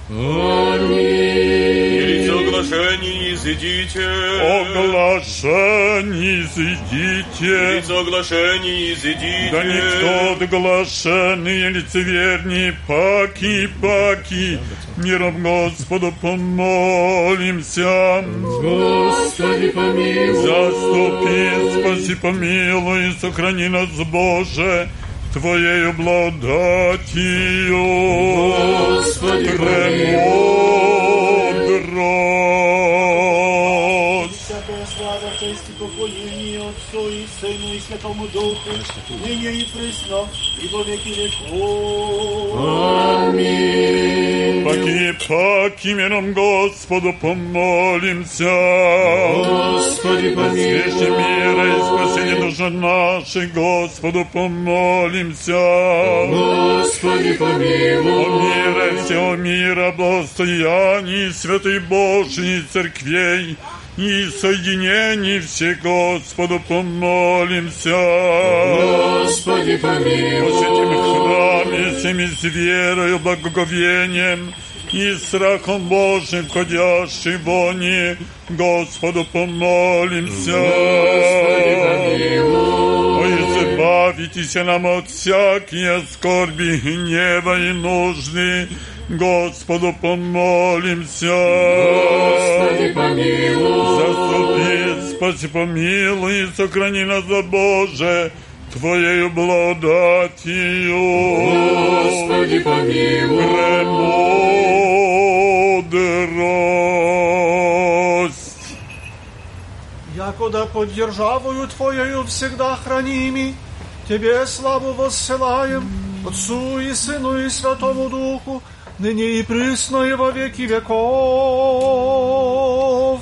Аминь. Елица оглашений изыдите. Оглашений изыдите. Елица оглашений изыдите. Да никто оглашенные лицеверни, паки, паки, миром Господу помолимся. Господи, помилуй. Заступи, спаси, помилуй, сохрани нас, Боже, Твоею благодатью. Господи, премудрость. Всякая слава, честь и поклонение Отцу и Сыну и Святому Духу, ныне и присно, и во веки веков. Аминь. Паки, паки, миром Господу помолимся. Господи, помилуй. Свящи мира и спасение души нашей, Господу помолимся. Господи, помилуй. О мире всего мира, благостоянии святой Божьей церквей и соединении всех, Господу помолимся. Господи, помилуй. Во святом храме всеми с верою, благоговением и страхом Божьим входящий в они, Господу помолимся. Господи, помилуй. О, избавитесь нам от всякие скорби, гнева и нужды, Господу помолимся. Господи, помилуй. Заступи, спаси, помилуй и сохрани нас, Боже, Твоею благодатью. Господи, помилуй. Премудрость. Якода под державою Твоею всегда храними, Тебе славу воссылаем, Отцу и Сыну и Святому Духу, ныне и присно и во веки веков.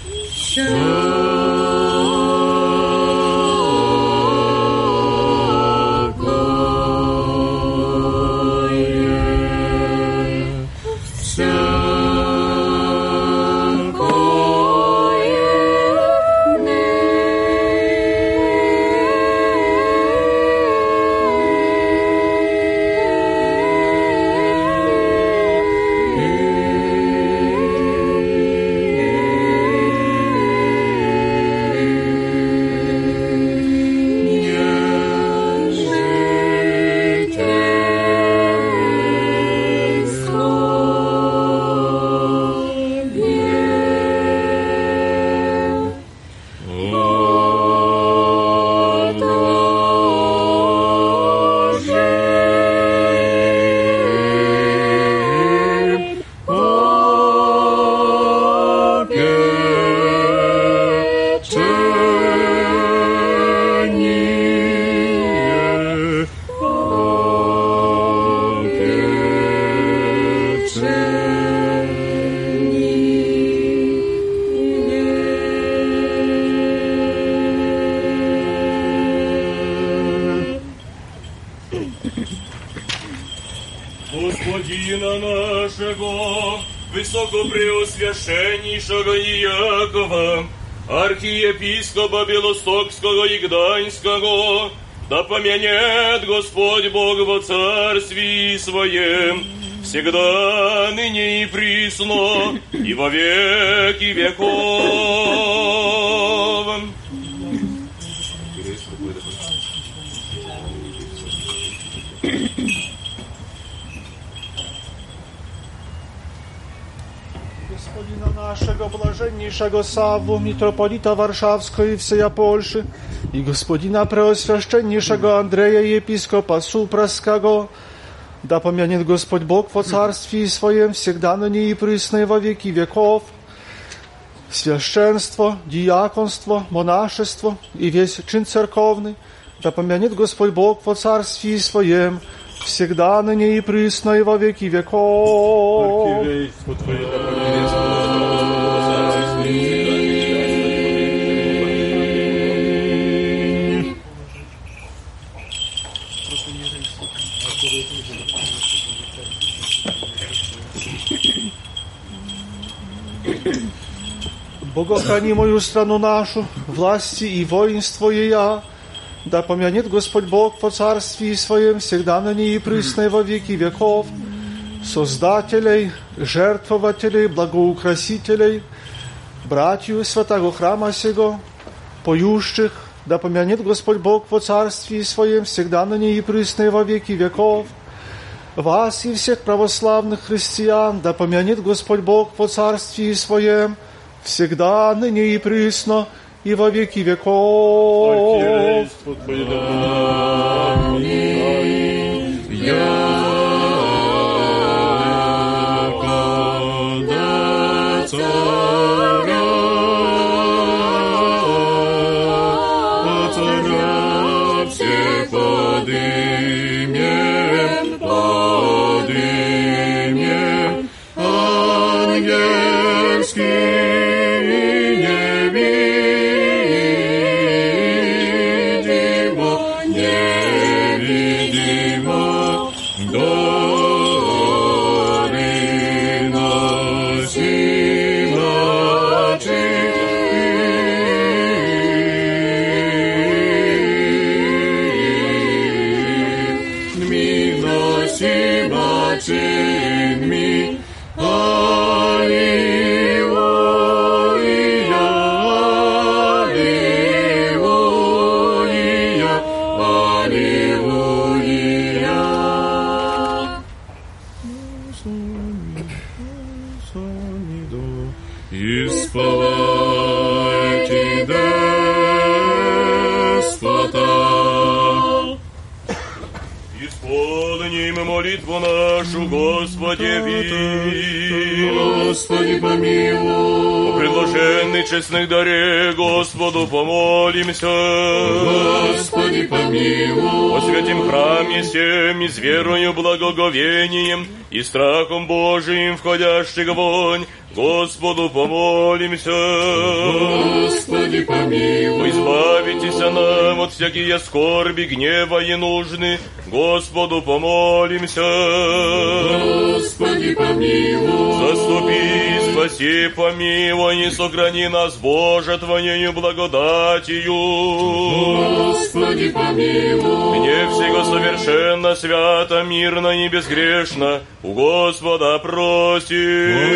Господина нашего, высокопреосвященнейшего Иакова, архиепископа Белостокского и Гданьского, да помянет Господь Бог во царствии Своем, всегда, ныне и присно, и во веки веков. Господина нашего блаженнейшего Савву, митрополита Варшавского и всея Польши, и господина преосвященнейшего Андрея, епископа Супраского, да помянет Господь Бог во царствии Своем, всегда ныне и присно и во веки веков. Священство, диаконство, монашество и весь чин церковный, да помянет Господь Бог во царствии Своем, всегда ныне и присно и во веки веков. Архиерейство Твое, Богохрани мою страну нашу, власти и воинство ея, да помянет Господь Бог по царствии Своем, всегда ныне и присно и во веки веков, создателей, жертвователей, благоукрасителей, братью святого храма сего, поющих, да помянет Господь Бог по царствии Своем, всегда ныне и присно и во веки веков, вас и всех православных христиан, да помянет Господь Бог по царствии Своем, всегда, ныне и присно, и во веки веков. Архиерейство Твое, Якода царя, царя всех подымем, подымем, ангельский. Молитву нашу, Господи, ви. Господи, помилуй. По блаженный честных даре, Господу помолимся. Господи, помилуй. О святем храме сем и с верою, благоговением и страхом Божиим входящих вонь, Господу помолимся. Господи, помилуй. Избавитесь нам от всякие скорби, гнева и нужды, Господу помолимся. Господи, помилуй. Заступи, спаси, помилуй и сохрани нас, Боже, Твоею благодатью. Господи, помилуй. Мне всего совершенно, свято, мирно и безгрешно у Господа просим.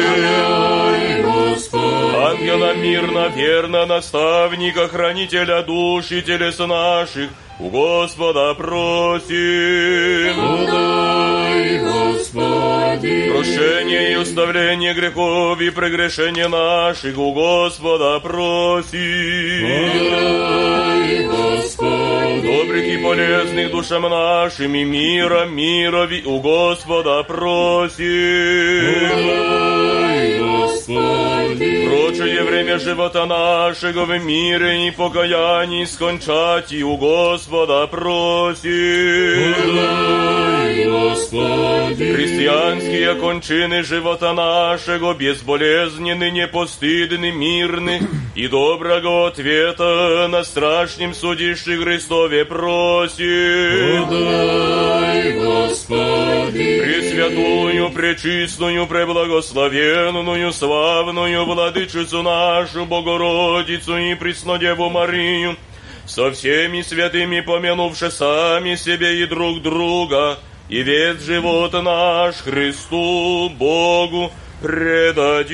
Ангела мирно, верно, наставника, хранителя душ и телес наших, у Господа просим. Подай, Господи. Прощение и уставление грехов и прегрешения наших, у Господа просим. Подай, Господи. Добрых и полезных душам нашим и мира, мирови, у Господа просим. Подай, Господи. Прочее время живота нашего в мире и покаянии скончать, и у Господа просим. Подай, Господи. Христианские кончины живота нашего безболезненны, непостыдны, мирны, и доброго ответа на страшном судище Христове просим. Подай, Господи. Пресвятую, пречистую, преблагословенную, славную Владычицу нашу, Богородицу и Преснодеву Марию, со всеми святыми помянувши сами себе и друг друга, и весь живот наш Христу, Богу предадим.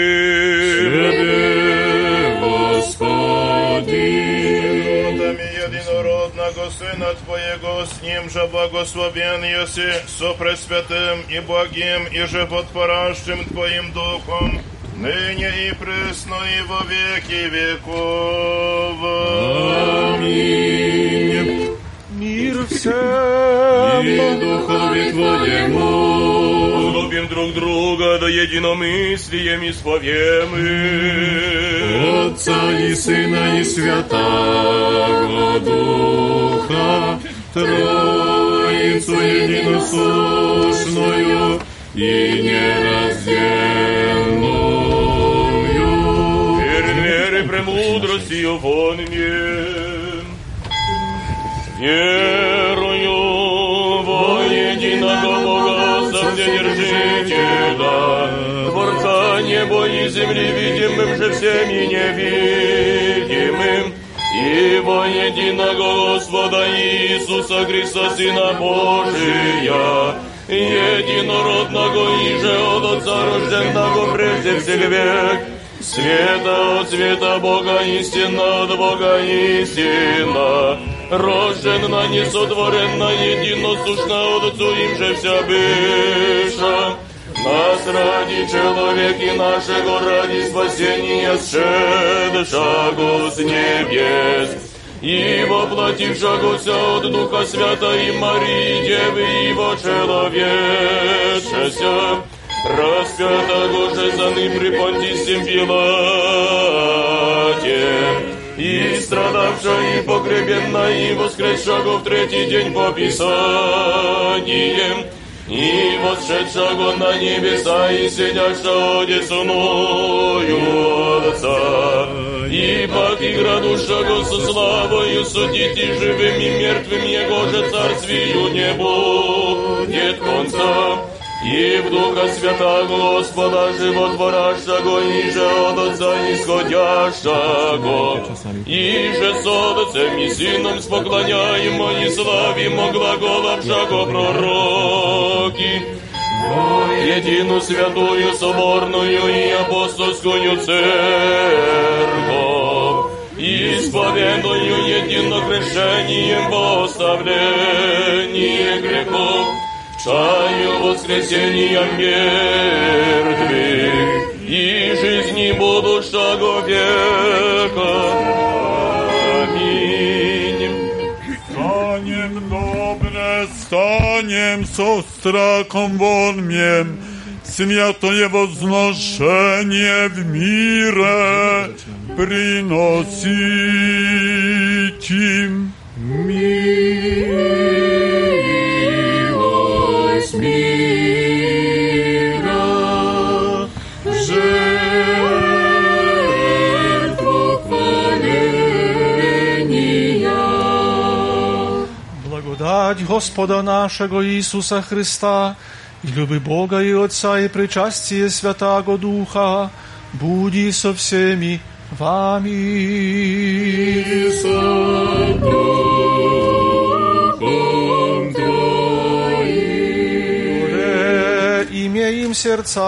Тебе, Господи. Единородного Сына Твоего, с Ним же благословен еси, со пресвятым и благим и животворящим Твоим Духом, ныне и пресно и во веки веков. Аминь. Мир всем. И Духове Твоему. Любим друг друга, да единомыслием исповемы. Отца и Сына и Святаго Духа, Троицу единосущную и нераздельную. Перед верой премудростью вонме, верую во единого Бога, Совседержителя, Творца неба и земли, видимым же всем и невидимым, и во единого Господа Иисуса Христа, Сына Божия, единородного и же от Отца рожденного прежде всех век, света от света Бога истина, от Бога истина, рожденна, несотворенна, единосущна от Отцу им же вся быша. Нас ради человеки нашего, ради спасения сшедшего с небес, и воплотившегося от Духа Святой Марии Девы его человечеся, распятого же за ним при Понтием Пилате, и страдавша, и погребенна, и воскресшего в третий день по Писаниям, и восшедшего на небеса, и сидящего одесную Отца, и паки градушего со славою судить и живым и мертвым, Его же царствию не будет конца. И в Духа Святого Господа животворящего, и же от Отца исходящего, и же с Отцем и Сыном споклоняемо и славимо глаголавшего пророки, едину святую, соборную и апостольскую церковь, исповедую единокрещением во оставление грехов, чаю воскресения мертвых и жизни будущего века. Аминь. Станем добре, станем со страхом вонмем, святое возношение в мире приносить им. Милость мира, жертву хваления. Благодать Господа нашего Иисуса Христа, и любы Бога и Отца, и причастие Святаго Духа, буди со всеми вами. И со Духом Твоим. Горе имеем сердца.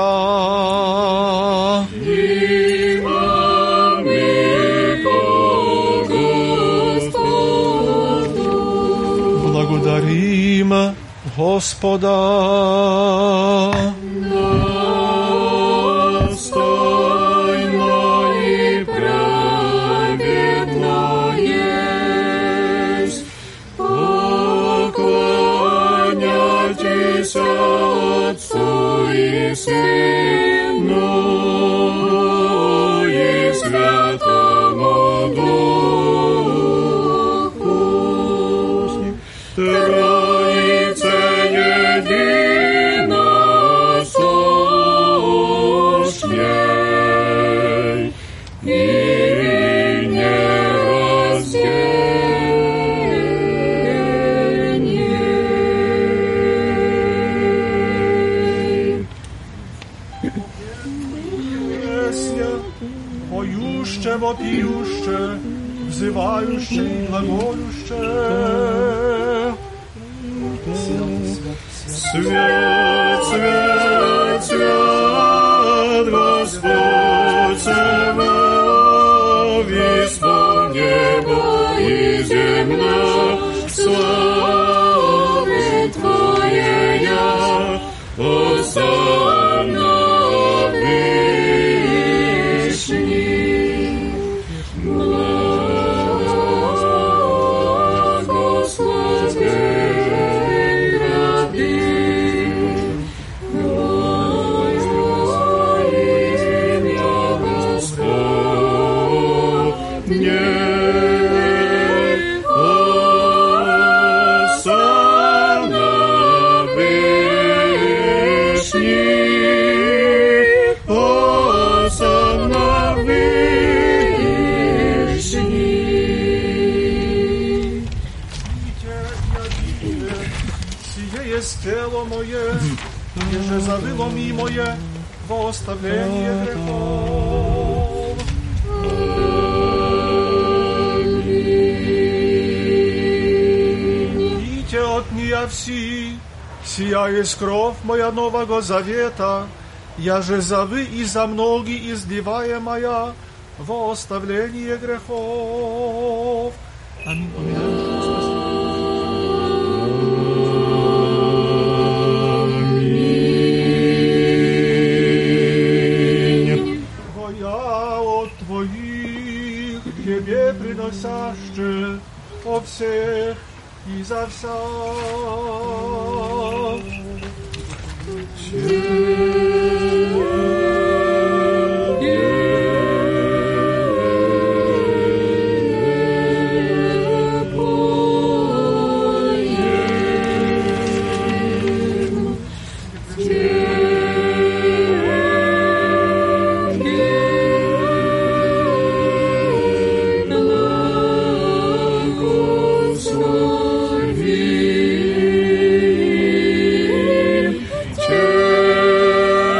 Благодарим Господа. Достойно и праведно есть поклоняйтесь Отцу и Сыну и Святому Духу. Троица едина сущей и нераздельней. Песня, поюще, вопиюще, взывающе и глаголюще. Свят, свят, свят, Господь Саваоф, исполни небо и земля, славы Твоя, Осанна Вышний. Благословен гради, имя Господне. Осанна Вышний, Осанна Вышний. Сие есть тело мое, еже завыло ми мое во оставление грехов. Пейте от нея все, сия есть кровь моя нового завета, я же за вы и за многие изливаемая во оставление грехов. Аминь. Поминаем Спасителя. Тебе приносяще о всех и за вся. Благослови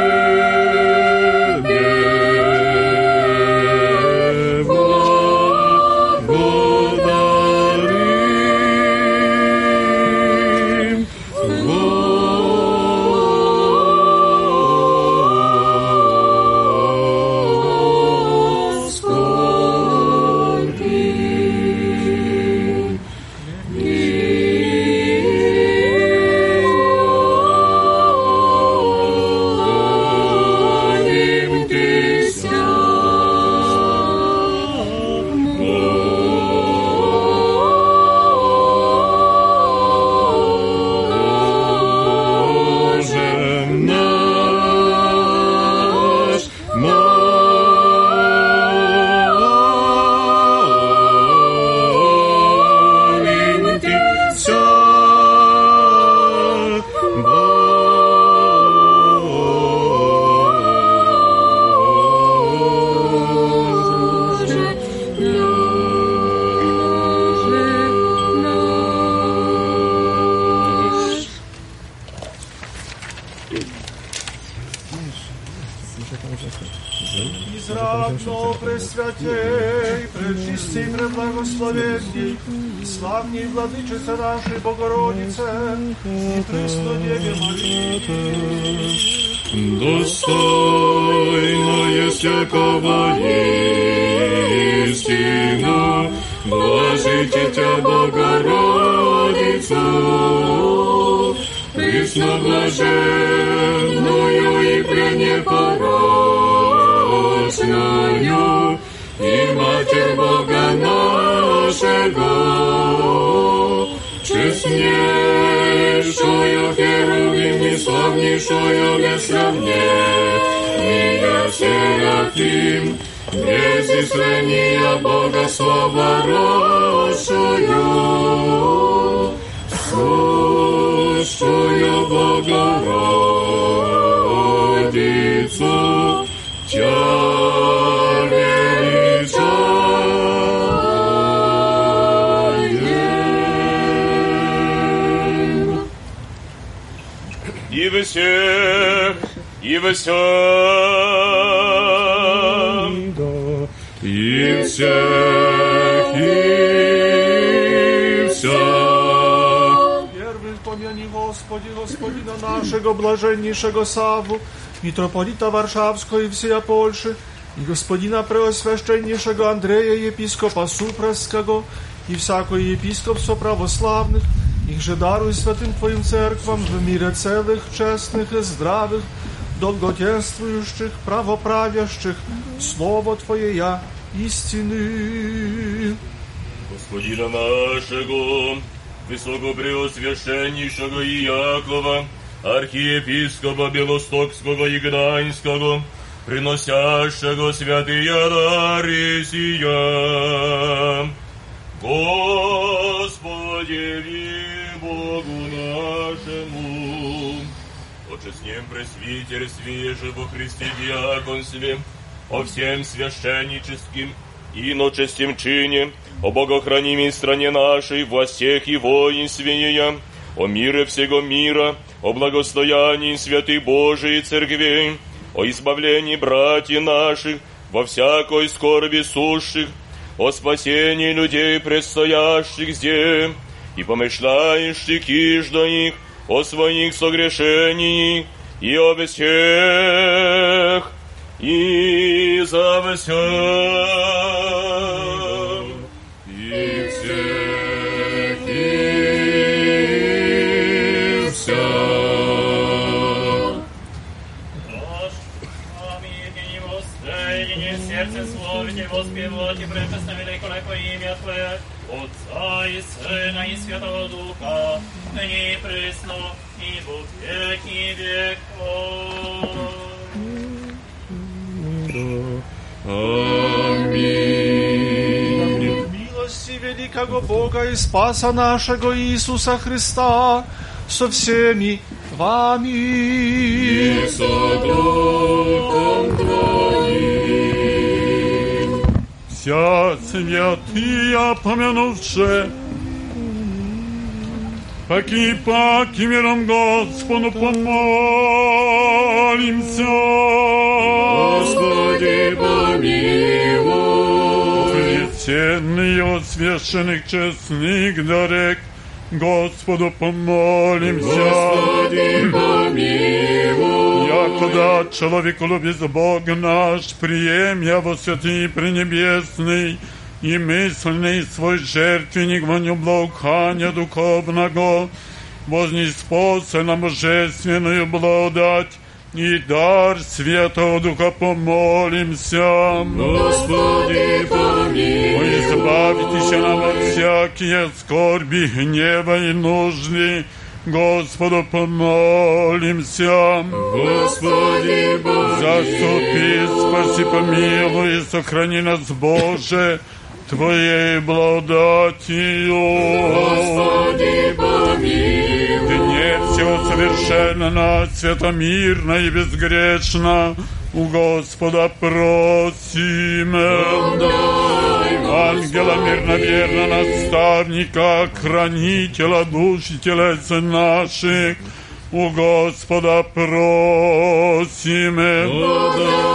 пречисти и преблагословенней, славней Владычице нашей Богородице, и присно Деве Марии. Достойно есть всякого истину, блажите Тя, Богородицу, пресноблаженную и пренепорочную, и Матерь Бога нашего, честнейшую Херувим и славнейшую без сравнения Серафим, без исследования Бога слава росшую, сущую Богородицу, Тя величаем. И во всех, и во всем, и всех, и вся. Первый помяни, Господи, Господина нашего, блаженнейшего Савву, митрополита Варшавского и всея Польши, и господина преосвященнейшего Андрея, епископа Супрасского, и всякое епископство православных, их же даруй святым Твоим церквам в мире целых, честных и здравых, долгоденствующих, правоправящих, Слово Твое я истины. Господина нашего, высокопреосвященнейшего Иакова, архиепископа Белостокского и Гданьского, приносящего святые дары сия. Господи, Богу нашему, о честнем пресвитерстве же во Христе диаконстве, о всем священническим и иночестим чине, о богохранимой стране нашей, во всех и воинстве ея, о мире всего мира, о благостоянии святых Божией церквей, о избавлении братьев наших во всякой скорби сущих, о спасении людей, предстоящих здесь, и помышляющих иждо их, о своих согрешениях, и о всех, и за всем, и всех, и вся. Сердце славите, воспевайте, пречестно великолепное имя Твое, Отца и Сына и Святого Духа, ныне и присно, и во веки веков. Аминь. Милости великого Бога и Спаса нашего Иисуса Христа со всеми вами. И со Духом Твоим. Вся святые помянувши, паки, паки миром Господу помолимся. Господи, помилуй. Пресвященный от священных честных дарек, Господу помолимся. Господи, помилуй. Якогда человеколюбец Бог наш, приемя во святый пренебесный и мысленный свой жертвенник воню благоухания духовного, вознеспося на божественную благодать и дар Святого Духа помолимся. Господи, помилуй. Избавитесь нам от всякие скорби, гнева и нужды, Господу помолимся. Господи, помилуй. Заступи, спаси, помилуй и сохрани нас, Боже, Твоей благодатью. Господи, помилуй. Дне всего совершенно, святомирно и безгрешно у Господа просим. Ангела мирно, верно, наставника, хранителя душ и телес наших, у Господа просим.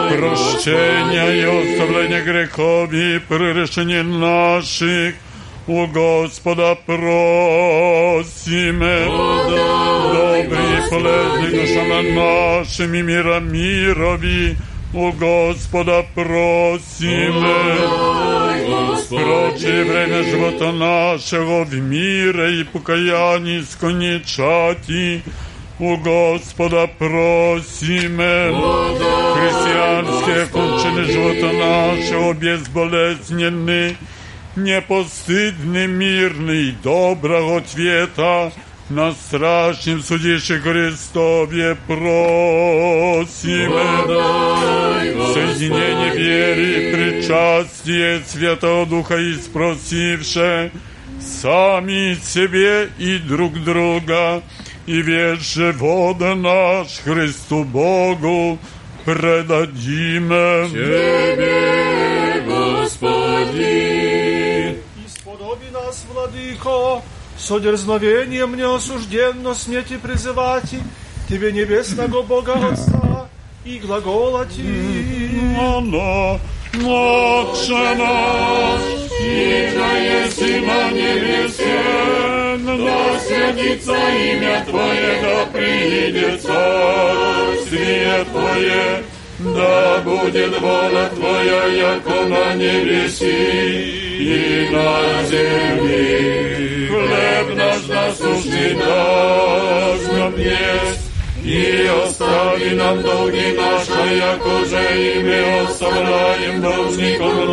прощения и оставления грехов и прегрешений наших, у Господа просиме. Добрый и полезный душам нашим и мира мирови, у Господа просиме. Прочее время живота нашего в мире и покаянии скончати, у Господа просиме. Христианские кончины живота нашего безболезненны, непостыдный, мирный, доброго цвета, на страшном судище Христове просиме. Соединение веры, причастие Святого Духа и спросивше сами себе и друг друга, и весь живот наш Христу Богу предадиме. Тебе, Господи. Исподоби нас, Владыко, со дерзновением неосужденно смейте призывать Тебе, небесного Бога Отца, и глаголати. Оно, Отче наш, иже еси на небесе, да святится имя Твое, да придет царствие Твое, да будет воля Твоя, яко на небеси и на земли. Хлеб наш насущный дашь нам есть, и остави нам долги наши, яко же и мы оставляем должникам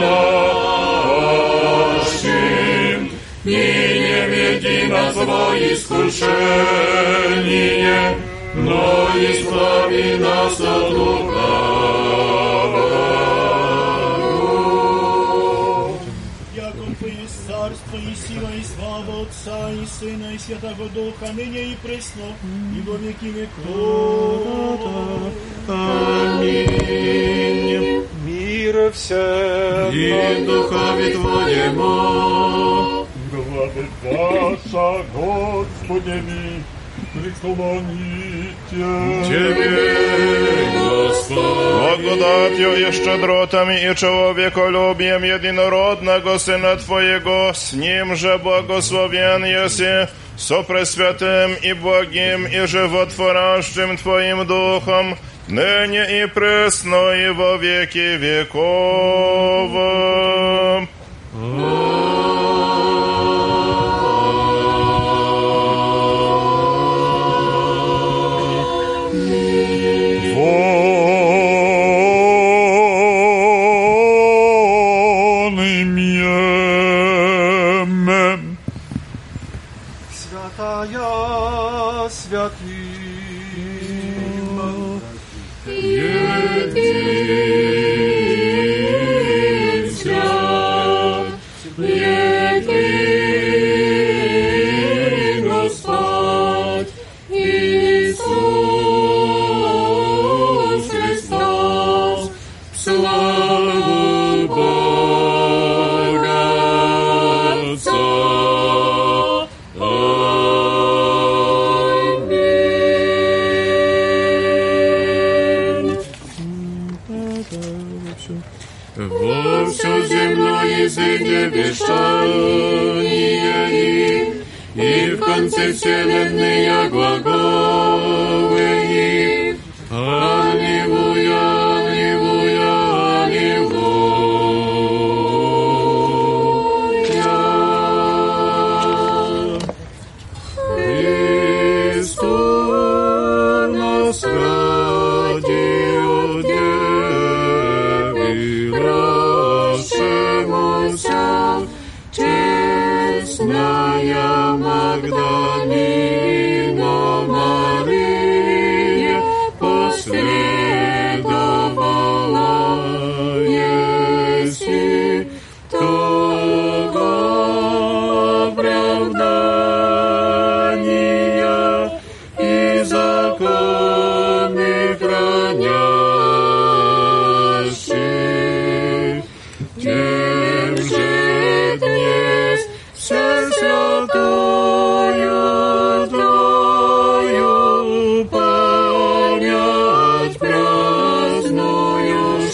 нашим. И не веди нас во искушение, но избави нас от лукавого. Яко Твое есть царство и сила и слава Отца и Сына и Святого Духа, ныне и пресно, и во веки веков. Аминь. Мир всем и духове Твоему. Главе ваша, Господи, преклоните. Тебе, Господи. Благодатью и щедротами и человеколюбием единородного Сына Твоего, с Ним же благословен еси, со Пресвятым и Благим и животворящим Твоим Духом, ныне и пресно и во веки веков. Святая святым, един свят, един Господь, Иисус Христос, славу Бога Отца. Во всю земное изыдя вещание их, и в конце вселенной глаголы их. Аллилуйя, аллилуйя, аллилуйя. Христос нас родил, честная Магдалина Мария последовала еси того оправдания и законы хранящих. Тем же днес все святую Твою память праздную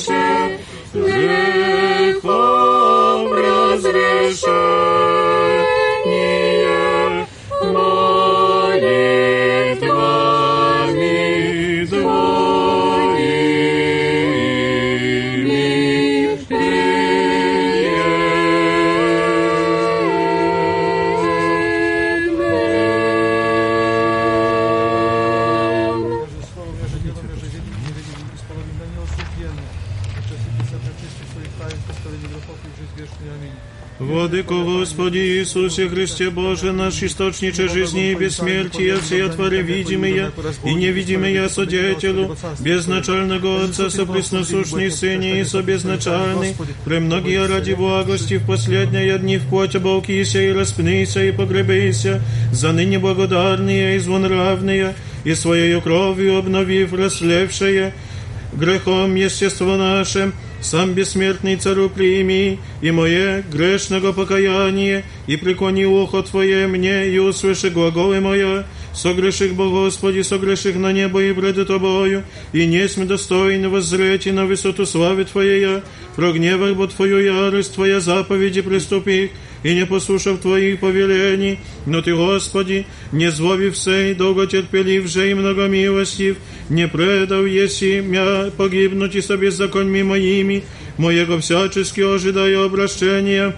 Владыко Господи Иисусе Христе Боже наш, источниче жизни и бессмертия, все твори видимые и невидимые содетелю, безначального Отца, сопресносущный Сыне и собезначальный, премногие ради благости в последние дни в плоть оболкися и распнися и погребися, за ныне благодарные и злонравные, и своею кровью обновив расслевшее, грехом естество наше, сам бессмертный Царю прими, и мое грешного покаяние, и преклони ухо Твое мне, и услыши глаголы моя, согреших Бо Господи, согреших на небо и пред Тобою, и не сме достойны воззреть на высоту славы Твоей, прогневах Бо Твою ярость, Твоя заповеди приступих, и не послушав Твоих повелений, но Ты, Господи, не злобив сей, долготерпелив же и многомилостив, не предал еси мя погибнуть и со беззаконьми моими, моего всячески ожидаю обращения.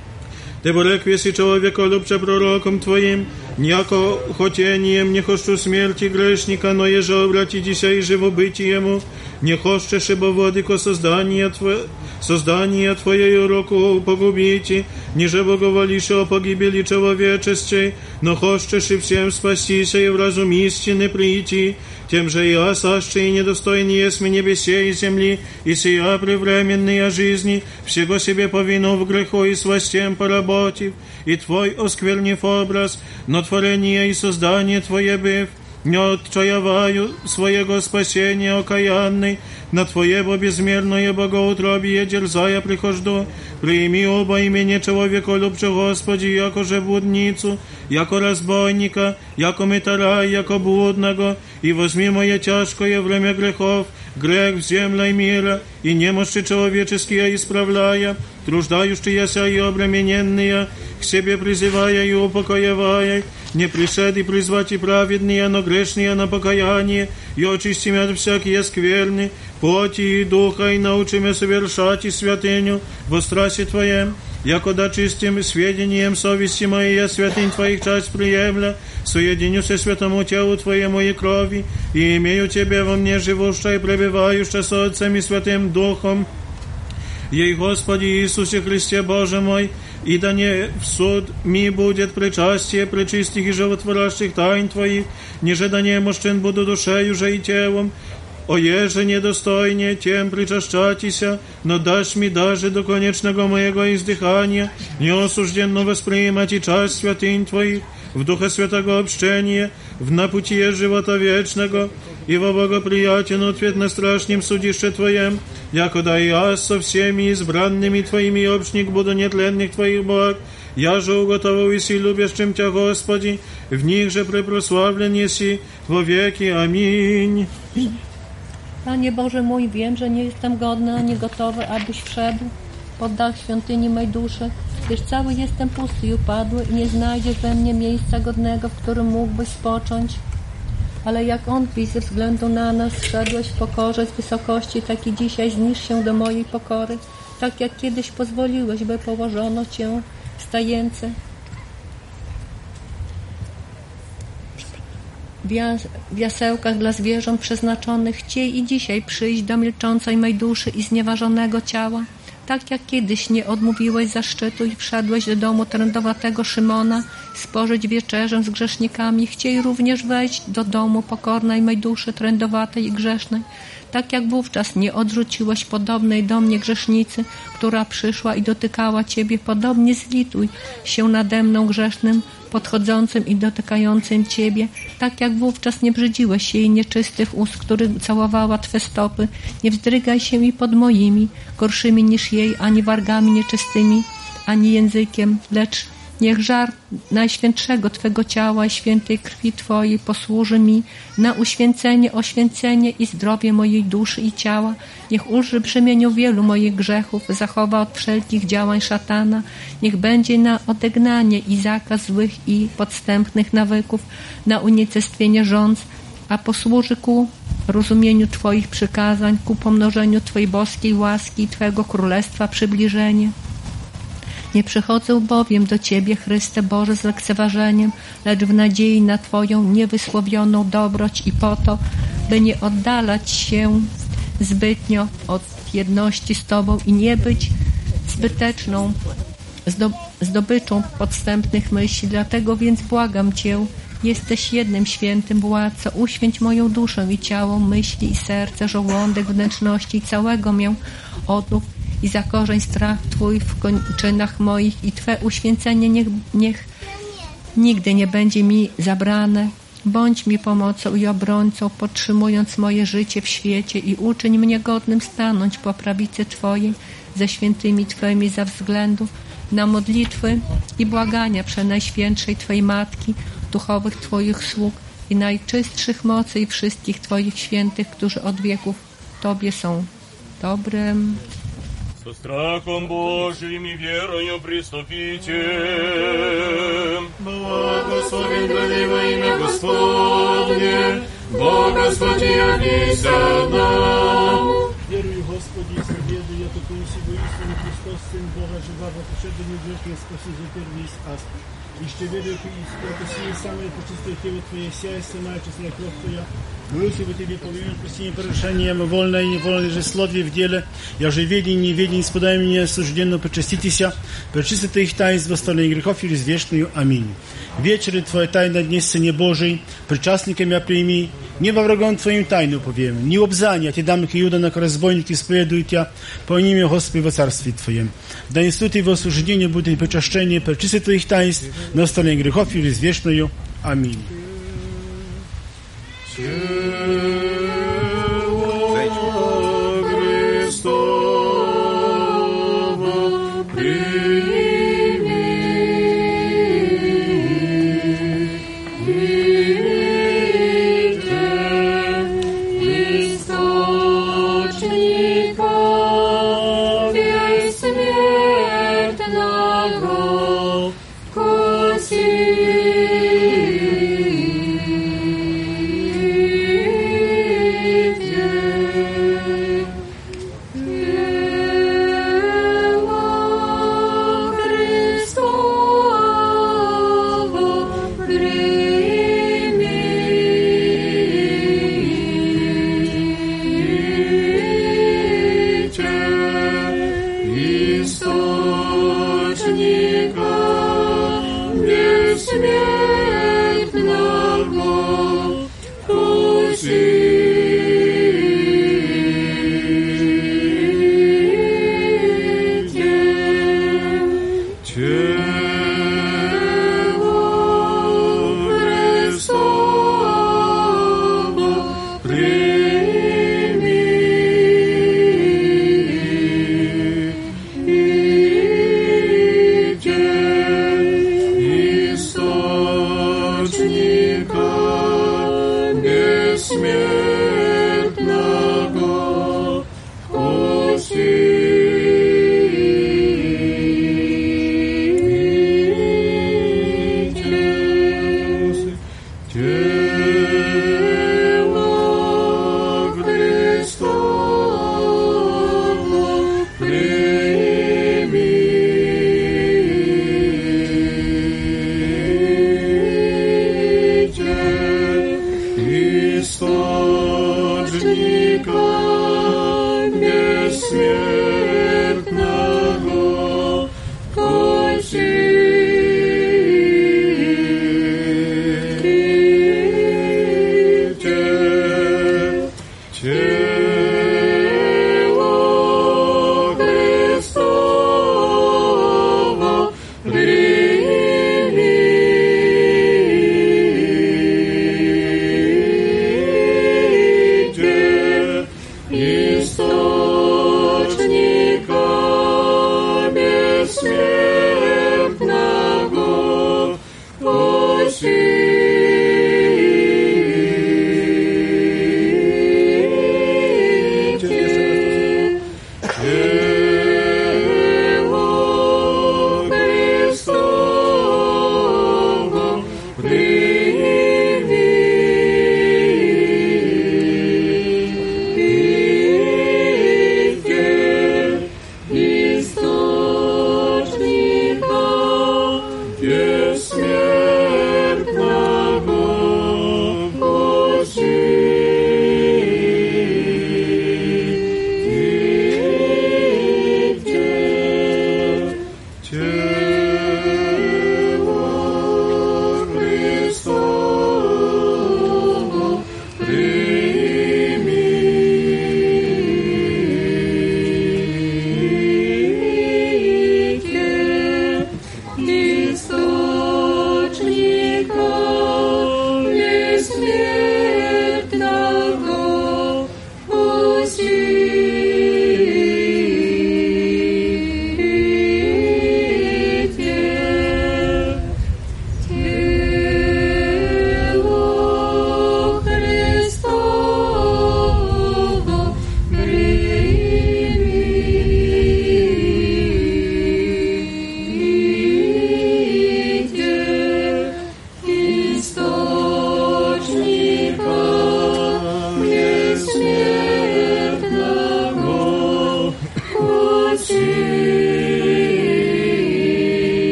Ты пореквеси человека любче пророком Твоим, няко хотением не хочу смерти грешника, но еже обратитеся и живобытие ему, не хочешь, ибо владыко создание Твое, создание Твоею руку погубите, ниже боговолише о погибели человечестей, но хочешь и всем спастися и в разум истины прийти, тем же я, сащий и недостойный есмь небесе и земли, и сия превременная жизни, всего себе повину в греху и сластем поработив, и Твой осквернив образ, но творение и создание Твое быв, не отчаяваю своего спасения окаянный, на Твоего безмерное богоутробие дерзая прихожду, прими оба имени человеколюбче Господи, яко же блудницу, яко разбойника, яко мытара, яко блудного, и возьми мое тяжкое время грехов, грех в земле мира, и немощи человеческие исправляя, труждающиеся и обремененные, к себе призывая и упокоевая, не пришед и призвать и праведные, но грешные на покаяние, и очисти меня от всякие скверны, плоти и духа, и научи меня совершать и святыню во страсти Твоем, якода чистым сведением совести моей я святынь Твоих часть приемля, соединю се святому телу Твоему и крови, и имею Тебе во мне живущее и пребывающее со Отцем и Святым Духом, ей, Господи Иисусе Христе Боже мой, и да не в суд ми будет причастие пречистых и животворящих тайн Твоих, ниже да не мощен буду душею же и телом, о еже недостойнее тем причащатися, но дашь ми даже до конечного моего издыхания, неосужденно воспринимать и часть святынь Твоих, в Духа Святого общения, в напутие живота вечного, и во благоприятен ответ на страшном судище Твоем, якода и я со всеми избранными Твоими общник буду нетленных Твоих благ, я же уготовил и си любящим Тя, Господи, в них же препрославлен еси во веки. Аминь. Panie Boże mój, wiem, że nie jestem godny ani gotowy, abyś wszedł pod dach świątyni mej duszy, gdyż cały jestem pusty i upadły i nie znajdziesz we mnie miejsca godnego, w którym mógłbyś spocząć. Ale jak On, Ty ze względu na nas zszedłeś w pokorze z wysokości, tak i dzisiaj zniż się do mojej pokory, tak jak kiedyś pozwoliłeś, by położono Cię w stajence. W jasełkach dla zwierząt przeznaczonych chciej i dzisiaj przyjść do milczącej mej duszy i znieważonego ciała, tak jak kiedyś nie odmówiłeś zaszczytu i wszedłeś do domu trędowatego Szymona spożyć wieczerzę z grzesznikami, chciej również wejść do domu pokornej mej duszy trędowatej i grzesznej, tak jak wówczas nie odrzuciłeś podobnej do mnie grzesznicy, która przyszła i dotykała Ciebie, podobnie zlituj się nade mną grzesznym, podchodzącym i dotykającym Ciebie, tak jak wówczas nie brzydziłeś jej nieczystych ust, których całowała Twe stopy, nie wzdrygaj się i pod moimi, gorszymi niż jej, ani wargami nieczystymi, ani językiem, lecz niech żar Najświętszego Twego ciała i świętej krwi Twojej posłuży mi na uświęcenie, oświęcenie i zdrowie mojej duszy i ciała. Niech ulży brzemieniu wielu moich grzechów, zachowa od wszelkich działań szatana. Niech będzie na odegnanie i zakaz złych i podstępnych nawyków, na unicestwienie żądz, a posłuży ku rozumieniu Twoich przykazań, ku pomnożeniu Twojej boskiej łaski i Twego królestwa przybliżenie. Nie przychodzę bowiem do Ciebie, Chryste Boże, z lekceważeniem, lecz w nadziei na Twoją niewysłowioną dobroć i po to, by nie oddalać się zbytnio od jedności z Tobą i nie być zbyteczną zdobyczą podstępnych myśli. Dlatego więc błagam Cię, jesteś jednym świętym władcą, uświęć moją duszę i ciało, myśli i serce, żołądek, wnętrzności całego mię odnów i zakorzeń strach Twój w kończynach moich i Twe uświęcenie niech, niech nigdy nie będzie mi zabrane. Bądź mi pomocą i obrońcą, podtrzymując moje życie w świecie i uczyń mnie godnym stanąć po prawicy Twojej ze świętymi Twoimi za względu na modlitwy i błagania przenajświętszej Twojej Matki, duchowych Twoich sług i najczystszych mocy i wszystkich Twoich świętych, którzy od wieków Tobie są dobrem. Со страхом Божиим и верою приступите. Благословен гради во имя Господне, Бога спотиявися нам. Верую, Господи, и советую, я такую сего истину, Христос, Сын Бога, живого, пошедший грешный, спаси за первый ас. И что верую, что сие самое почистое тело Твое, сия самая честная кровь Твоя, Молюсь бы Тебе, повинен просим порушением, вольное и невольное же слове в деле, я же ведень и неведень, исподай меня осужденно, почаститеся, пречистите их таинств, восстановления грехов и извешную. Аминь. Вечеры Твоя тайна днесь Сыне Божий, причастниками я прими, не во врагом Твоим тайну повем, не обзания, Ти дам к Иуда на разбойники исповедуют я, по имя Господи во Царстве Твоем. Да несут Его осуждение, будет причащение, пречистите Твоих таинств, на восстановление грехов и извешную. Аминь.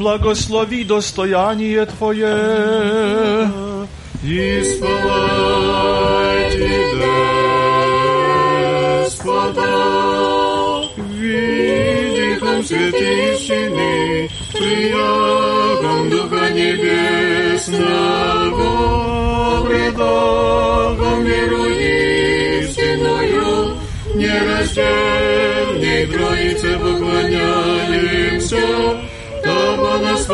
благослови достояние Твое. Исполайте, Господа, видихом святищины, приягом Духа Небесного, предагом веру истинную, нераздельной Троице поклоняемся, Того нас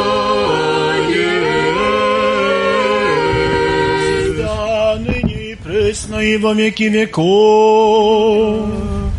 послает. Да, ныне и пресно и во веки веков.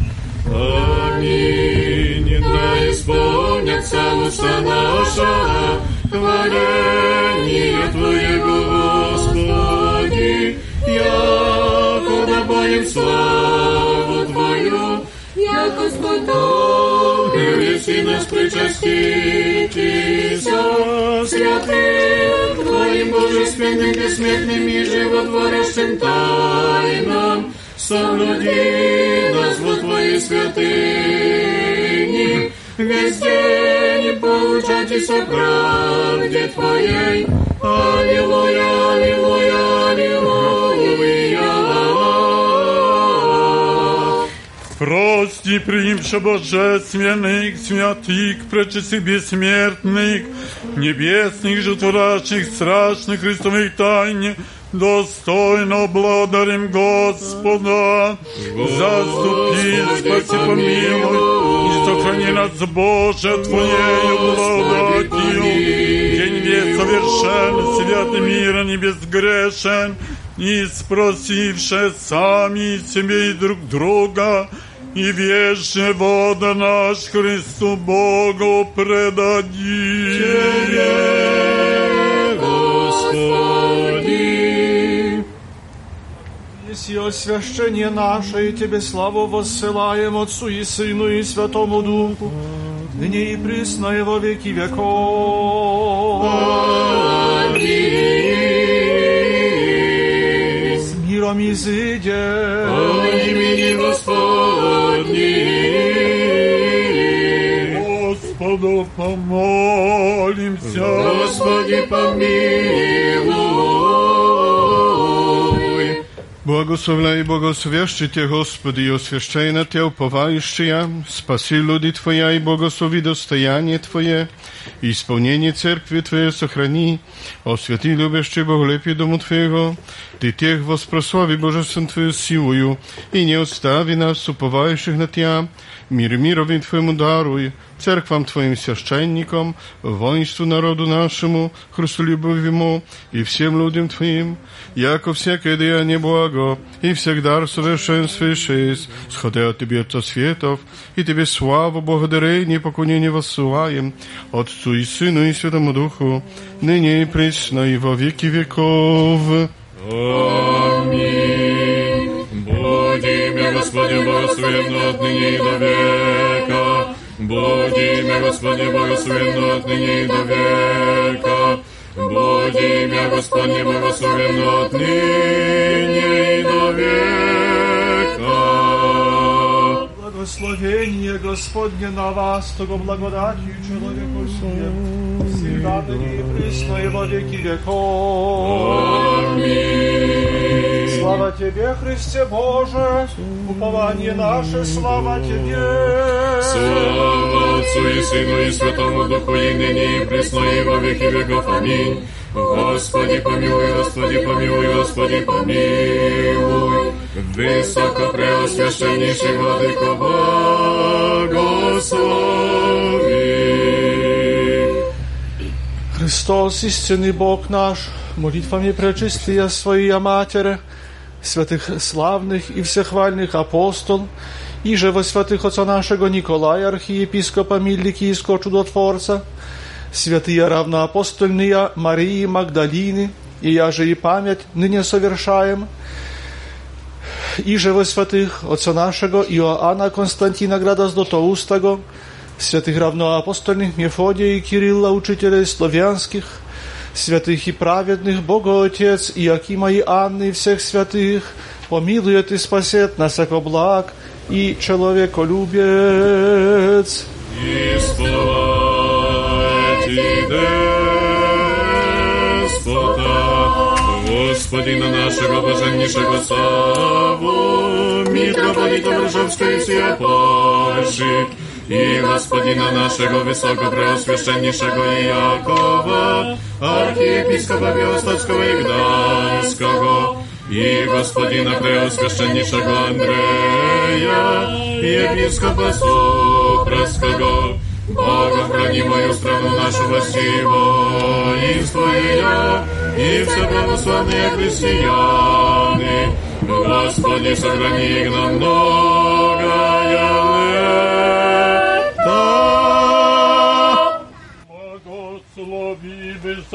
Аминь. Да исполнятся уста наша, хваление Твоего, Господи, яко добавим славу Твою, я Господу, если нас причаститесь, святым Твоим божественным, бессмертным и животворящим тайнам, соблюди нас во Твоей святыни, весь день получайтесь о правде Твоей. Аллилуйя, аллилуйя, аллилуйя. Прости, примша божественных, святых, пречистых, бессмертных, небесных, животворящих, страшных Христовых тайн, достойно благодарим Господа. Заступи, спаси, помилуй, и сохрани нас, Боже, Твоею благодатью. День весь совершен, святый мира не безгрешен, и спросивши сами себе и друг друга, и весь живот наш Христу Богу предадим. Тебе, Господи. Еси освящение наше, и Тебе славу воссылаем Отцу и Сыну и Святому Духу, ныне и присно и во веки веков. Аминь. С миром изыдем. О имени Господни. Господу помолимся. Господи, помилуй. Благословляй и благосвящите, Господи, и освящай на Те уповающие, спаси люди Твоя и благослови достояние Твое, и исполнение церкви Твоей сохрани, освяти любящий боголепие дому Твоего, Ты тех воспрослави божествен Твою силою, и не остави нас, уповающих на Тя, мир мирови Твоему даруй, церквам Твоим священникам, воинству народу нашему, Христолюбивому, и всем людям Твоим, яко всякое деяние благо, и всегда совершенствуешь, сходя от Тебе, Отца светов, и Тебе славу, благодарение и поклонение воссылаем, Отцу и Сыну и Святому Духу, ныне и присно и во веки веков. Аминь. Будь имя Господне благословенно отныне и до века. Будь имя Господне благословенно отныне и до века. Будь имя Господне благословенно отныне и до века. Благословение Господне на вас, того благодатью человеку всем, всегда ныне и присно и во веки веков. Аминь. Слава Тебе, Христе Боже, упование наше, слава Тебе. Слава Отцу и Сыну и Святому Духу, и ныне и присно и во веки веков. Аминь. Господи помилуй, Господи помилуй, Господи помилуй. Высокопреосвященнейший Владыко, благослови. Христос, истинный Бог наш, молитвами пречистия Своя Матери, святых славных и всехвальных апостол, и же во святых Отца нашего Николая, архиепископа Миликийского чудотворца, святые равноапостольные Марии Магдалины, и я же и память ныне совершаем, и же во святых Отца нашего Иоанна Константина Града Златоустого, святых равноапостольных Мефодия и Кирилла, учителей славянских, святых и праведных, Бога Отец, Иакима и Анны, и всех святых, помилует и спасет на всяко благ и человеколюбец. И славьте Господина нашего блаженнейшего Савву, митрополита Варшавской и всея Польши, и Господина нашего Высокопреосвященнейшего Иакова, архиепископа Биостатского и Гданьского, и Господина Преосвященнейшего Андрея, епископа Супровского, Богом хранимую страну нашу Василу, и Твоя, и все православные христианы, Господи, сохрани их на многое лето. Благослови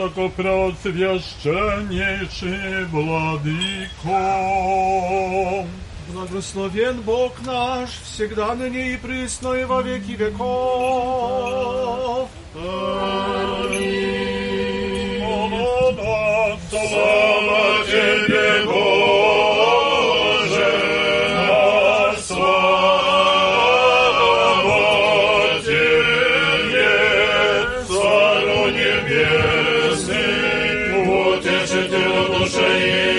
высокопреосвященнейший владыко. Благословен Бог наш, всегда ныне и присно и во веки веков. Аминь. Слава Тебе, Боже, слава Тебе, Царю Небесный, утешителю души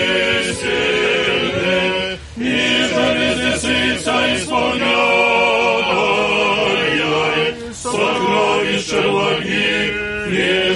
истины, и железница исполняй, сокровища влаги и